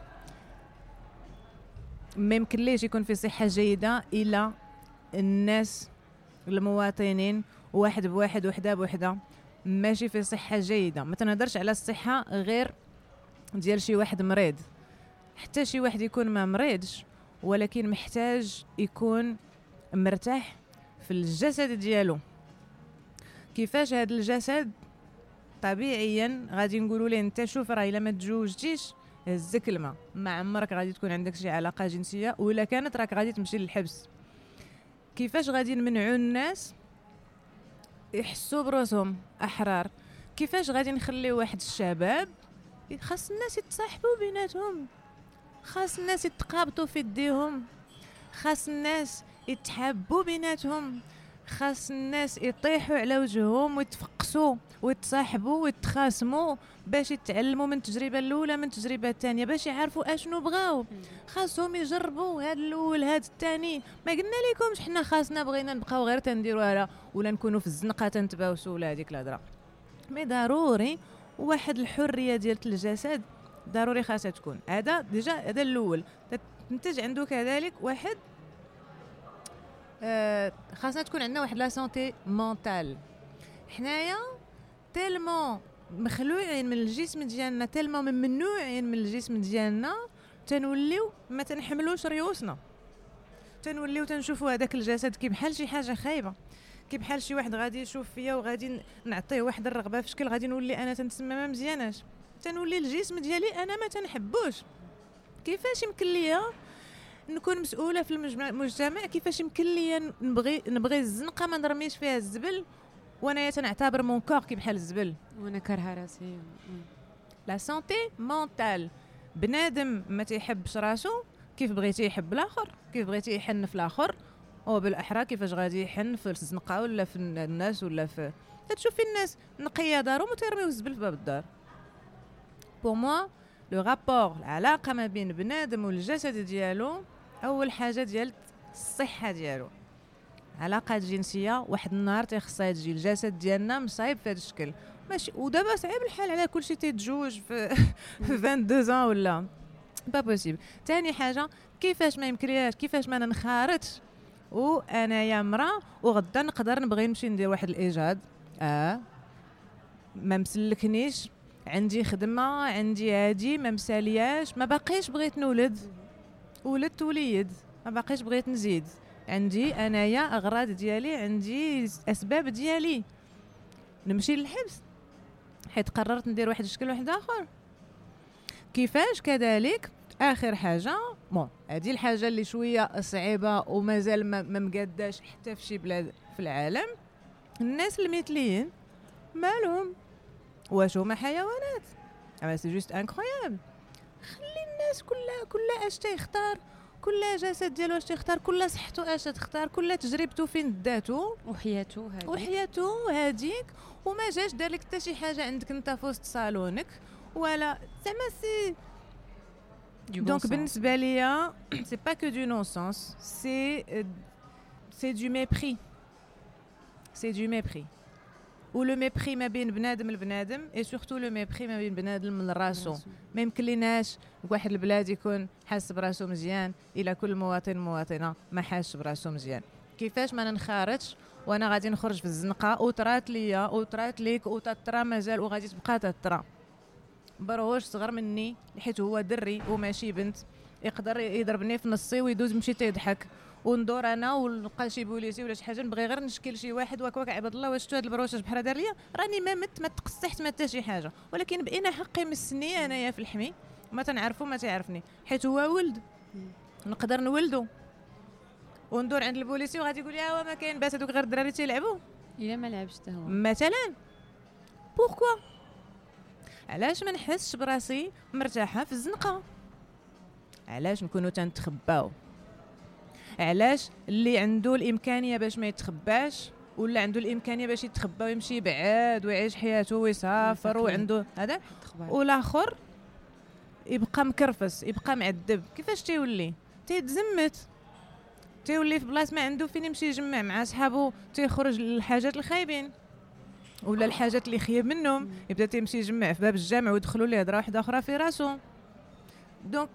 S3: ما يمكن ليش يكون في صحه جيده الا الناس المواطنين واحد بواحد وحده بوحده ماشي في صحه جيده. ما تنهضرش على الصحه غير ديال شي واحد مريض، حتى شي واحد يكون ما مريضش ولكن محتاج يكون مرتاح في الجسد ديالو. كيفاش هذا الجسد؟ طبيعيا غادي نقولوا ليه انت شوف راه الا ما تزوجتيش هزك الماء، ما عمرك غادي تكون عندك شي علاقه جنسيه، ولا كانت راك غادي تمشي للحبس. كيفاش غادي نمنعوا الناس يحسوا براسهم احرار؟ كيفاش غادي نخليو واحد الشباب خاص الناس يتصاحبوا بيناتهم، خاص الناس يتقابطوا في يديهم، خاص الناس يتحابوا بيناتهم، خاص الناس يطيحوا على وجههم ويتفقسوا ويتصاحبوا ويتخاصموا باش يتعلموا من التجربه الاولى من التجربه الثانيه باش يعرفوا اشنو بغاو. خاصهم يجربوا هذا الاول هذا الثاني. ما قلنا لكمش حنا خاصنا بغينا نبقاو غير تنديروها ولا نكونوا في الزنقه تنتباوسوا ولا هذيك الهضره. مي ضروري واحد الحريه ديال الجسد ضروري خاصها تكون. هذا ديجا هذا الاول. تنتج عنده كذلك واحد آه خاصنا تكون عندنا واحد لا سونتي مونتال. حنايا تيلمون مخلوعين من الجسم ديالنا، تيلمون ممنوعين من الجسم ديالنا، تنوليو ما تنحملوش ريوسنا، تنوليو تنشوفوا هذاك الجسد كي بحال شي حاجه خايبه، كي بحال شي واحد غادي يشوف فيا وغادي نعطيه واحد الرغبه في شكل غادي نولي انا تنتسمى ما مزياناش، تنولي الجسم ديالي انا ما تنحبوش. كيفاش يمكن ليا نكون مسؤوله في المجتمع؟ كيفاش يمكن ليا نبغي نبغي الزنقه ما نرميش فيها الزبل وانا تنعتبر مون كور كي بحال الزبل
S2: وانا كارهه راسي؟
S3: لا سونتي مونتال. بنادم ما تيحبش راسو كيف بغيتي يحب الاخر، كيف بغيتي يحن في الاخر، او بالاحرى كيفاش غادي يحن في الزنقه ولا في الناس ولا في تشوفي الناس نقيه دارهم وتيرميو الزبل في باب الدار. بور موا لو رابور العلاقه ما بين بنادم والجسد ديالو اول حاجه ديال الصحه ديالو. علاقات جنسيه واحد النهار تيخصها تجي، الجسد ديالنا مصايب في هذا الشكل ماشي، ودابا صعيب الحال على كلشي تيتزوج في في اثنين وعشرين عام ولا با بوسيبل. ثاني حاجه كيفاش ما يمكنلياش، كيفاش ما ننخرطش وانا يا مرا وغدا نقدر نبغي نمشي ندير واحد الايجاد، اه ما مسلكنيش، عندي خدمه، عندي هادي ما مسالياش، ما باقيش بغيت نولد، ولدت وليد، ما باقيش بغيت نزيد، عندي انايا اغراض ديالي، عندي اسباب ديالي، نمشي للحبس حيت قررت ندير واحد الشكل واحد اخر. كيفاش كذلك اخر حاجه بون هذه الحاجه اللي شويه صعيبه ومازال ما مقاداش حتى في شي بلاد في العالم، الناس المثليين مالهم؟ واش هما حيوانات؟ اما سي جوست انكرويابل. خلي الناس كلها كلها اش تيختار، كل جسد ديالو اش تيختار، كل صحته اش تختار، كل تجربته فين داتو
S2: وحياته هذيك
S3: وحياته هذيك، وما جاش دار لك حتى شي حاجه عندك انت في وسط صالونك ولا زعما سي دونك. بالنسبه ليا سي با كو دو نون سونس، سي سي دو ميبري، سي دو ميبري. و لو ميبري ما بين بنادم لبنادم اي سورتو لو ميبري ما بين بنادم لراسو. ما يمكن ليناش واحد البلاد يكون حاس براسو مزيان الى كل مواطن مواطنه ما حاسش براسو مزيان. كيفاش ما ننخرطش وانا غادي نخرج في الزنقه وطرات ليا وطرات ليك وتطرا مازال وغادي تبقى تطرا. بروش صغر مني حيت هو دري وماشي بنت يقدر يضربني في نصي ويدوز مشي تيضحك وندور انا ونلقى شي بوليسي ولا شي حاجه نبغي غير نشكل شي واحد واك واك عباد الله واش شتو هاد البروشاج بحال دار ليا، راني ما مت ما تقصحت ما حتى شي حاجه، ولكن بقينا حقي مسني انايا في الحمي ما تنعرفو ما تعرفني حيت هو ولد نقدر نولدو وندور عند البوليسي وغادي يقول لي ها ما كاين باس هذوك غير الدراري تيلعبوا
S2: الا ما لعبش حتى هو
S3: مثلا. بوركوا علاش ما نحسش براسي مرتاحه في الزنقه؟ علاش نكونوا تنتخباو؟ علاش اللي عنده الامكانيه باش ما يتخباش ولا عنده الامكانيه باش يتخبى ويمشي بعاد ويعيش حياته ويسافر وعنده هذا، والاخر يبقى مكرفس يبقى معذب. كيفاش تيولي تيتزمت، تيولي في بلاصه ما عنده فين يمشي يجمع مع صحابه، تيخرج للحاجات الخايبين ولا الحاجات اللي خيب منهم، يبدا تيمشي يجمع في باب الجامع ويدخلوا ليه هضره واحده اخرى في راسو. دونك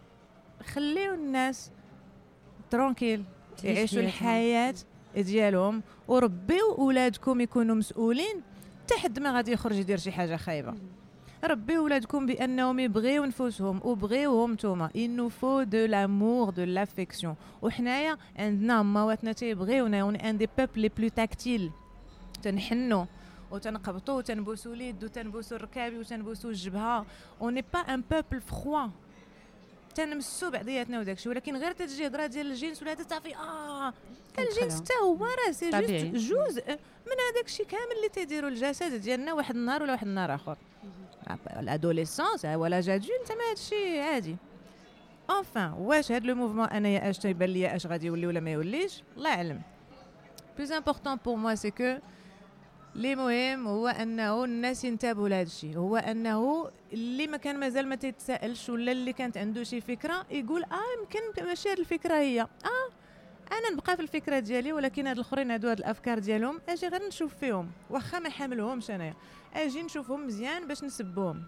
S3: خليو الناس ترونكيل يعيشوا الحياه ديالهم، وربيو اولادكم يكونوا مسؤولين تحد ما غادي يخرج يدير شي حاجه خايبه. ربيو ولادكم بانهم يبغيو نفوسهم وبغيوهم نتوما. il nous faut de l'amour de l'affection. وحنايا عندنا مواتنا تيبغيونا، ون ان دي بيبل لي بلو تاكتيل، تنحنوا وتنقبطوا وتنبوسوا اليد وتنبوسوا الركابي وتنبوسوا الجبهه. اون ني با ان بيبل فروا، تنمسوا بعضياتنا وداكشي. ولكن غير تجي هضره ديال الجنس ولا تصافي اه الجنس حتى هو راه سي جوست جزء من هذاك الشيء كامل اللي تيديروا الجسد ديالنا واحد النهار ولا واحد النهار اخر. الادوليسونس ولا جا جون تما هذا الشيء عادي. انفان واش هذا لو موفمون انايا اش تيبان ليا اش غادي يولي ولا ما يوليش الله اعلم. بلوز امبورطون بور موا سي كو لي مهم هو انه الناس ينتبهوا لهذا الشيء، هو انه اللي ما كان مازال ما تتسائلش ولا اللي كانت عنده شي فكره يقول اه يمكن ماشي هذه الفكره هي اه انا نبقى في الفكره ديالي، ولكن هاد الاخرين هادو هاد الافكار ديالهم اجي غير نشوف فيهم واخا ما حاملهمش انايا، اجي نشوفهم مزيان باش نسبهم.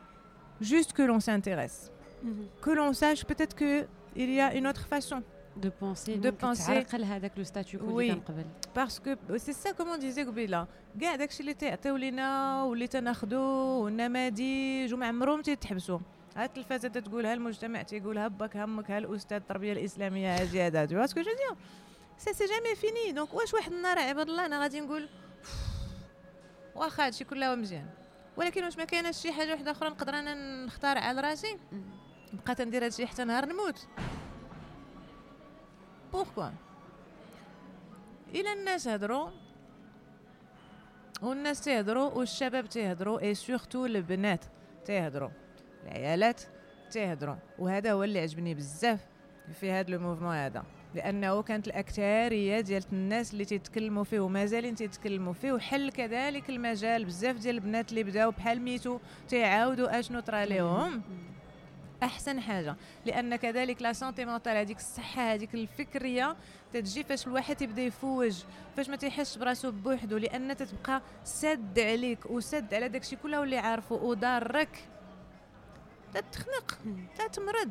S3: juste que l'on s'intéresse mm-hmm. que l'on sache peut-être que il y a une autre façon
S2: de penser
S3: de penser
S2: تعرقل هذاك لو ستاتيو كو اللي كان قبل.
S3: parce que c'est ça comme on disait قبيله كاع داكشي اللي تعطيو لينا واللي تناخذو والنماذج وما عمرهم تيتحبسوا. ها التلفازه تتقولها، المجتمع تيقولها، باك همك، ها الاستاذ التربيه الاسلاميه هاجي هذا تو اسكو جو دير سي سي جامي فيني. دونك واش واحد النهار عباد الله انا غادي نقول واخا هادشي كله مزيان، ولكن واش ما كايناش شي حاجه واحده اخرى نقدر انا نختار على راسي بقيت ندير هادشي حتى نهار نموت؟ بوركوا الى الناس هضروا والناس تيهضروا والشباب تيهضروا اي سورتو البنات تيهضروا العيالات تيهضروا، وهذا هو اللي عجبني بزاف في هذا لو موفمون هذا، لانه كانت الاكثريه ديال الناس اللي تيتكلموا فيه ومازالين تيتكلموا فيه، وحل كذلك المجال بزاف ديال البنات اللي بداو بحال ميتو تيعاودوا اشنو طرا لهم. احسن حاجه لان كذلك لا سونتي مونطال هذيك الصحه هذيك الفكريه تتجي فاش الواحد يبدا يفوج، فاش ما تيحسش براسو بوحدو، لان تتبقى سد عليك وسد على داكشي كله واللي عارفه وضارك، تتخنق تتمرض.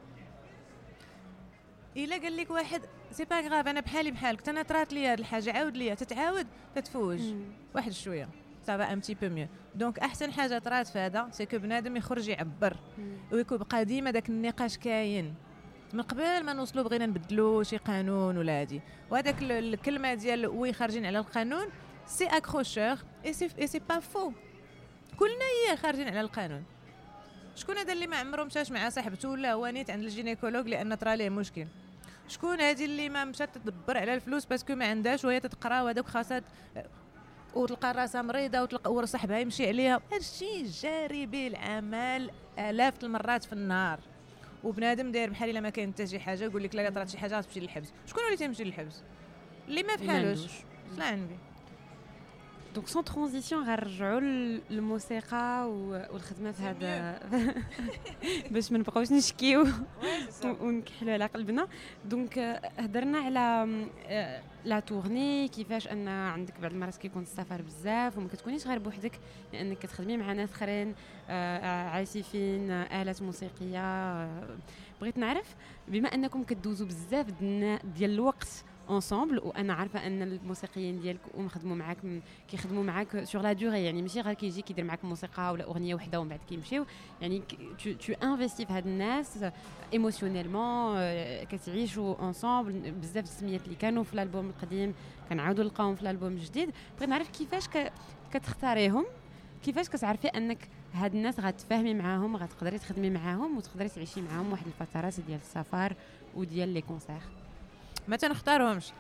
S3: الا قال لك واحد سي با غراف انا بحالي بحالك انا طرات لي هاد الحاجه عاود ليا، تتعاود تتفوج واحد شويه صافا ان بتي بو ميو. دونك احسن حاجه طرات في هذا سي كو بنادم يخرج يعبر ويكون بقى ديما داك النقاش كاين من قبل ما نوصلوا بغينا نبدلوا شي قانون ولا هادي، وهذاك الكلمه ديال وي خارجين على القانون سي اكروشور اي سي اي سي با فو. كلنا هي خارجين على القانون. شكون هذا اللي ما عمره مشاش مع صاحبته ولا هو نيت عند الجينيكولوج لان طرا ليه مشكل؟ شكون هذه اللي ما مشات تدبر على الفلوس باسكو ما عندهاش وهي تتقرا وهذوك خاصات وتلقى راسها مريضه وتلقى وصاحبها يمشي عليها؟ هادشي جاري به العمل الاف المرات في النهار، وبنادم داير بحال الا ما كاين حتى شي حاجه يقول لك لا طرات شي حاجه تمشي للحبس. شكون اللي تيمشي للحبس؟ اللي ما فحالوش. لا عنبي.
S2: دونك سون ترانزيسيون غنرجعوا للموسيقى والخدمه في هذا باش ما نبقاوش نشكيو ونكحلوا على قلبنا. دونك هضرنا على لا تورني، كيفاش ان عندك بعض المرات كيكون السفر بزاف وما كتكونيش غير بوحدك لانك كتخدمي مع ناس اخرين عازفين آلات موسيقيه. بغيت نعرف بما انكم كدوزوا بزاف ديال الوقت انصامبل، وانا عارفه ان الموسيقيين ديالكم خدموا معاك كيخدموا معاك سور لا دوري، يعني ماشي غير كيجي كيدير معاك موسيقى ولا اغنيه وحده ومن بعد كيمشيو، يعني تو تو انفيستي في هاد الناس ايموشنيلمون، كتعيشوا انصامبل. بزاف السميات اللي كانوا في الالبوم القديم كنعاودوا نلقاهم في الالبوم الجديد. بغيت نعرف كيفاش كتختاريهم، كيفاش كتعرفي انك هاد الناس غتفاهمي معاهم غتقدري تخدمي معاهم وتقدري تعيشي معاهم واحد الفترات ديال السفر وديال لي كونسير؟
S3: ما تنختارهمش،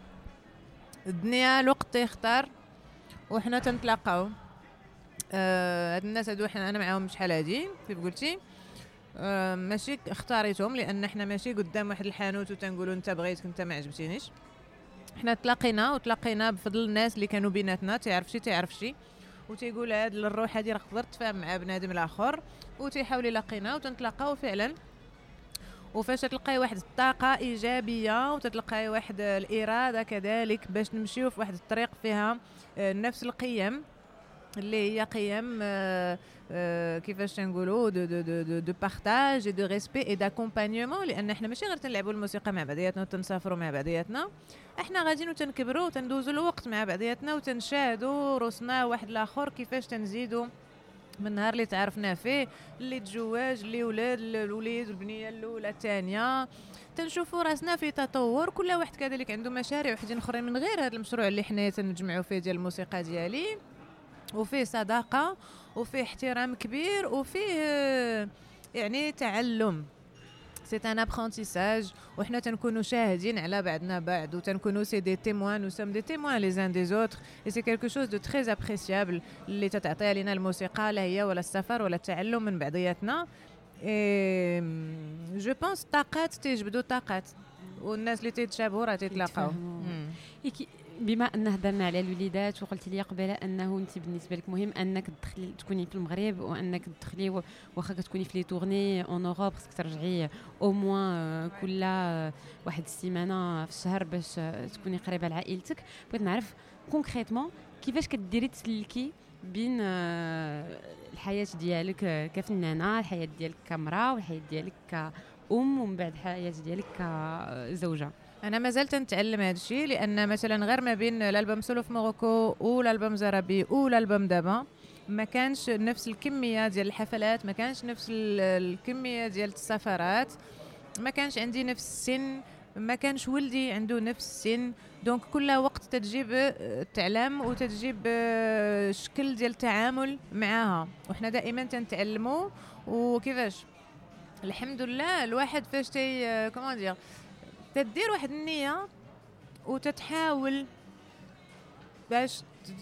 S3: الدنيا الوقت تيختار وحنا تنتلاقاو. آه هاد الناس هادو حنا انا معاهم شحال هادي كيف قلتي، آه ماشي اختاريتهم لان حنا ماشي قدام واحد الحانوت وتنقولوا انت بغيتك انت ما عجبتينيش. حنا تلاقينا وتلاقينا بفضل الناس اللي كانوا بيناتنا، تعرف شي تعرف شي وتيقول هاد الروح هذه راه تقدر تفهم مع بنادم الاخر، وتيحاول يلاقينا وتنتلاقاو فعلا. وفاش تلقاي واحد الطاقه ايجابيه وتتلقاي واحد الاراده كذلك باش نمشيو في واحد الطريق فيها نفس القيم اللي هي قيم آه آه كيفاش تنقولوا دو دو دو دو بارطاج دو ريسبي اي داكومبانيومون، لان احنا ماشي غير تنلعبوا الموسيقى مع بعضياتنا وتنسافروا مع بعضياتنا، احنا غاديين وتنكبروا وتندوزوا الوقت مع بعضياتنا وتنشاهدوا روسنا واحد الاخر كيفاش تنزيدوا من النهار اللي تعرفنا فيه، اللي تزواج، اللي ولاد، الوليد والبنيه الاولى الثانيه، تنشوفوا راسنا في تطور. كل واحد كذلك عنده مشاريع وحدين اخرين من غير هذا المشروع اللي حنا تنجمعوا فيه ديال الموسيقى ديالي، وفيه صداقه وفيه احترام كبير وفيه يعني تعلم. سي ان ابرونتيساج، وحنا تنكونوا شاهدين على بعضنا بعض وتنكونوا سي دي تيموان، نو سوم دي تيموان لي زان دي زوتر، اي سي كالكو شوز دو تري ابريسيابل اللي تتعطيها لنا الموسيقى، لا هي ولا السفر ولا التعلم من بعضياتنا. اي جو بونس طاقات تيجبدوا طاقات، والناس اللي تيتشابهوا راه تيتلاقاو.
S2: بما ان هضرنا على الوليدات وقلت لي قبل انه انت بالنسبه لك مهم انك تدخلي تكوني في المغرب وانك تدخلي واخا كتكوني في لي تورني اون اوروب، خصك ترجعي او موان كل واحد السيمانه في الشهر باش تكوني قريبه لعائلتك. بغيت نعرف كونكريتمون كيفاش كديري تسلكي بين الحياه ديالك كفنانه، الحياه ديالك كامراه، والحياه ديالك كأم، ومن بعد الحياه ديالك كزوجه.
S3: انا مازال تنتعلم هذا الشيء، لان مثلا غير ما بين الالبوم سولو في موروكو والالبوم زرابي والالبوم دابا ما كانش نفس الكميه ديال الحفلات، ما كانش نفس الكميه ديال السفرات، ما كانش عندي نفس السن، ما كانش ولدي عنده نفس السن، دونك كل وقت تجيب تعلم وتجيب شكل ديال التعامل معها، وحنا دائما تنتعلموا. وكيفاش الحمد لله الواحد فاش تي كومون دير تدير واحد النية وتتحاول باش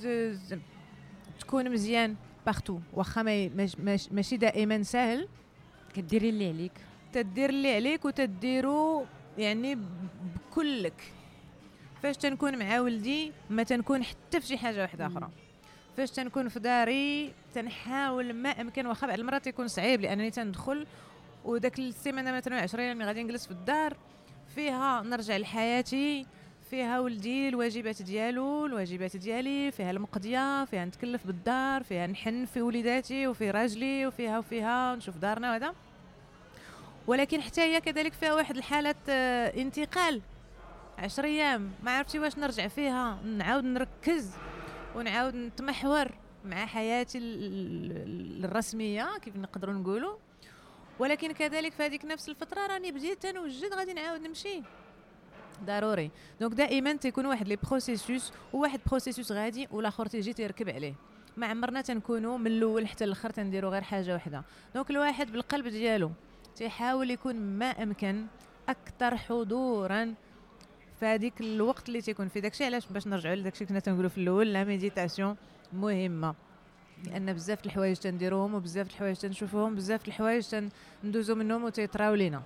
S3: تكون مزيان بارتو، واخا ماشي دائما سهل،
S2: كديري اللي عليك،
S3: تدير اللي عليك وتديرو يعني بكلك. فاش تنكون مع ولدي ما تنكون حتى في شي حاجه واحده اخرى، فاش تنكون في داري تنحاول ما امكن، واخا بعض المرات يكون صعيب لانني تندخل وداك السيمانه مثلا عشرين يوم غادي نجلس في الدار فيها نرجع لحياتي، فيها ولدي الواجبات ديالو الواجبات ديالي، فيها المقضيه، فيها نتكلف بالدار، فيها نحن في وليداتي وفي راجلي، وفيها وفيها نشوف دارنا وهذا. ولكن حتى هي كذلك فيها واحد الحاله انتقال عشر ايام ما عرفتي واش نرجع فيها نعاود نركز ونعاود نتمحور مع حياتي الرسميه كيف نقدروا نقولوا. ولكن كذلك في هذيك نفس الفتره راني بديت تنوجد غادي نعاود نمشي ضروري. دونك دائما تيكون واحد لي بروسيسوس، وواحد بروسيسوس غادي والاخر تيجي تيركب عليه، ما عمرنا تنكونوا من الاول حتى الاخر تنديروا غير حاجه واحده. دونك الواحد بالقلب ديالو تيحاول يكون ما امكن اكثر حضورا في هذيك الوقت اللي تيكون في داكشي. علاش؟ باش نرجعوا لداكشي كنا تنقولوا في الاول، لا ميديتاسيون مهمه، لان بزاف الحوايج تنديروهم وبزاف الحوايج تنشوفوهم، بزاف الحوايج تندوزو منهم وتيطراو لينا.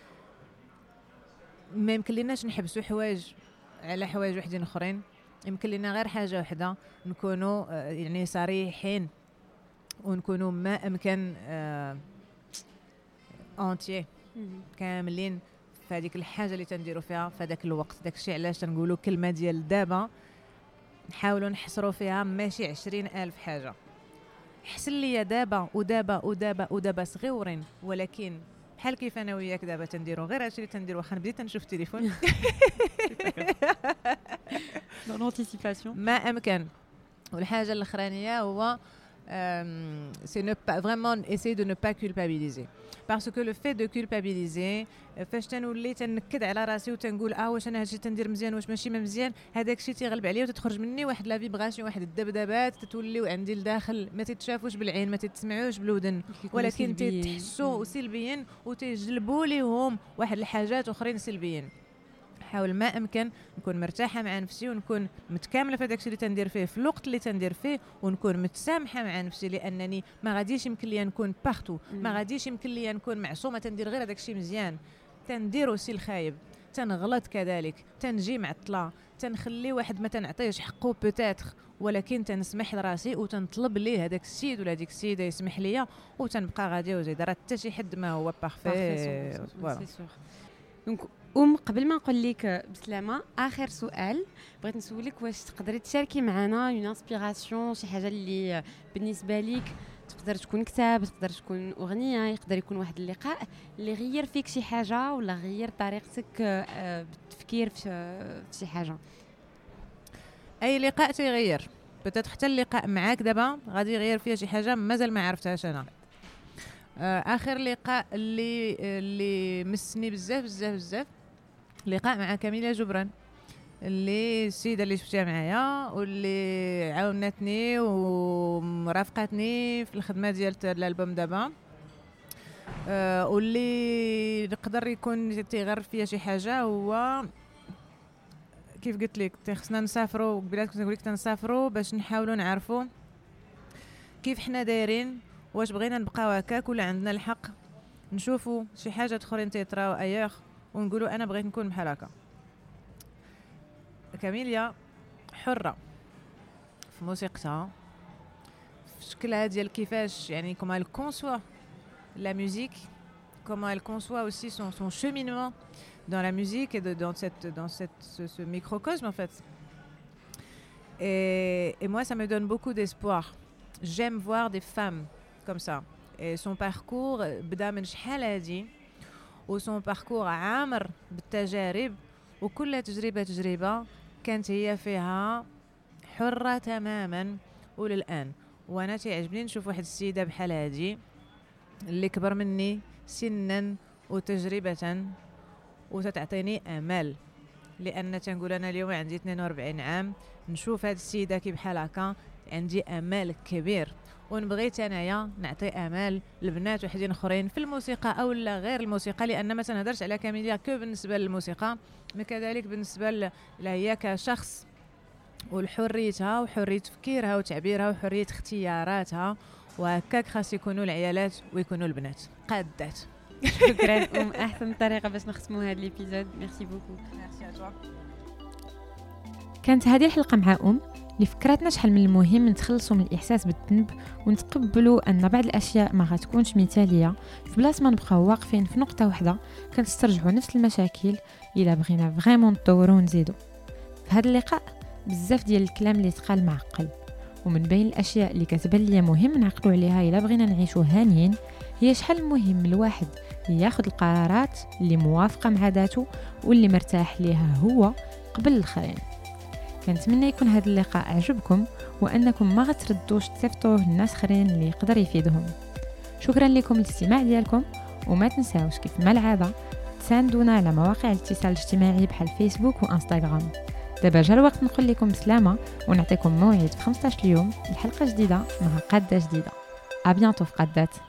S3: ما يمكن ليناش نحبسوا حوايج على حوايج وحدين اخرين، يمكن لنا غير حاجه وحده نكونوا يعني صريحين ونكونوا ما امكن اونتي كاملين في هذيك الحاجه اللي تنديروا فيها في هذاك الوقت. داكشي علاش تنقولوا كلمه ديال دابا نحاولوا نحصروا فيها ماشي عشرين ألف حاجه. حسن لي دابا ودابا ودابا ودابا صغيورين، ولكن بحال كيف انا وياك دابا تنديروا غير هادشي اللي تنديروا، واخا بديت نشوف التليفون
S2: دون انتيسيباسيون
S3: ما امكن. والحاجه الاخرانيه هو c'est ne pas vraiment essayer de ne pas culpabiliser, parce que le fait de culpabiliser فاش تنولي تنكد على راسي وتنقول اه واش انا هادشي تندير مزيان واش ماشي ما مزيان، هذاك الشيء تيغلب عليا وتتخرج مني واحد لا فيبراسيون، واحد الدبدبات تتوليو عندي لداخل ما تتشافوش بالعين ما تتسمعوش بالودن، ولكن تتحسوا سلبيا وتجلبوا ليهم واحد الحاجات اخرين سلبيين. حاول ما امكن نكون مرتاحه مع نفسي ونكون متكامله في داكشي اللي تندير فيه في الوقت اللي تندير فيه، ونكون متسامحه مع نفسي، لانني ما غاديش يمكن لي نكون بارتو، ما غاديش يمكن لي نكون معصومه تندير غير داكشي مزيان، تندير وسي الخايب، تنغلط كذلك، تنجي معطله، تنخلي واحد ما تنعطيهش حقه بوتيتر، ولكن تنسمح لراسي وتنطلب ليه هذاك السيد ولا هذيك السيده يسمح لي، وتنبقى غادي وزيد. راه حتى شي حد ما هو بارفي.
S2: دونك ام قبل ما نقول لك بسلامه، اخر سؤال بغيت نسولك، واش تقدري تشاركي معنا اون انسبيراسيون، شي حاجه اللي بالنسبه ليك تقدر تكون كتاب، تقدر تكون اغنيه، يقدر يكون واحد اللقاء اللي غير فيك شي حاجه ولا غير طريقتك بالتفكير في شي حاجه؟
S3: اي لقاء تيغير، بتات حتى اللقاء معاك دابا غادي يغير فيها شي حاجه مازال ما عرفتهاش انا. اخر لقاء اللي اللي مسني بزاف بزاف بزاف لقاء مع كاميليا جبران، اللي السيده اللي شفتيها معايا واللي عاونتني ومرافقتني في الخدمه ديال الالبوم دابا، أه واللي يقدر يكون تيغير فيها شي حاجه. هو كيف قلت لك خصنا نسافروا، قبيلات كنت نقول لك تنسافروا باش نحاولوا نعرفوا كيف حنا دايرين، واش بغينا نبقاو هكاك ولا عندنا الحق نشوفوا شي حاجه اخرين تيطراو اياغ ونقولوا انا بغيت نكون بحال هكا. كاميليا حره في موسيقتها، في شكلها ديال كيفاش يعني كوما elle conçoit la musique, comment elle conçoit aussi son, son cheminement dans la musique et de, dans, cette, dans cette, ce, ce microcosme en fait. Et, et moi ça me donne beaucoup d'espoir. J'aime voir des femmes comme ça. Et son parcours بدا من شحال هادي، وسون باركور عامر بالتجارب، وكل تجربة تجربة كانت هي فيها حرة تماما وللآن. وانا تعجبني نشوف واحد السيدة بحال هادي اللي كبر مني سنا وتجربة وتتعطيني امل، لان تنقول انا اليوم عندي اثنين وأربعين عام، نشوف هاد السيدة كي بحال هكا عندي امل كبير، ونبغيت انايا نعطي امال لبنات وحدين اخرين في الموسيقى او لا غير الموسيقى، لان ما تنهضرش على كاميليا كو بالنسبه للموسيقى، ما كذلك بالنسبه لها هي كشخص والحريتها وحريه تفكيرها وتعبيرها وحريه اختياراتها، وهكاك خاص يكونوا العيالات ويكونوا البنات قادات.
S2: شكرا ام، احسن طريقه باش نختموا هذا الابيزود. ميرسي بوكو.
S3: ميرسي ا توا.
S1: كانت هذه الحلقه مع ام اللي فكرتنا شحال من المهم نتخلصوا من الاحساس بالذنب ونتقبلوا ان بعض الاشياء ما غتكونش مثاليه، في بلاصه ما نبقاو واقفين في نقطه واحده كنسترجعوا نفس المشاكل الا بغينا فريمون نطوروا ونزيدوا. في هذا اللقاء بزاف ديال الكلام اللي تقال معقل، ومن بين الاشياء اللي كتبان ليا مهم نعقلوا عليها الا بغينا نعيشوا هانيين هي شحال مهم الواحد ياخذ القرارات اللي موافقه مع ذاته واللي مرتاح ليها هو قبل الاخرين. كنتمنى يكون هذا اللقاء عجبكم وانكم ما غتردوش تصيفطوه للناس اخرين اللي يقدر يفيدهم. شكرا لكم الاستماع ديالكم، وما تنساوش كيف ما العاده تساندونا على مواقع الاتصال الاجتماعي بحال فيسبوك وانستغرام. دابا جا الوقت نقول لكم بسلامه ونعطيكم موعد في خمسطاش يوم لحلقه جديده مع قاده جديده. ا بيانتو في قادات.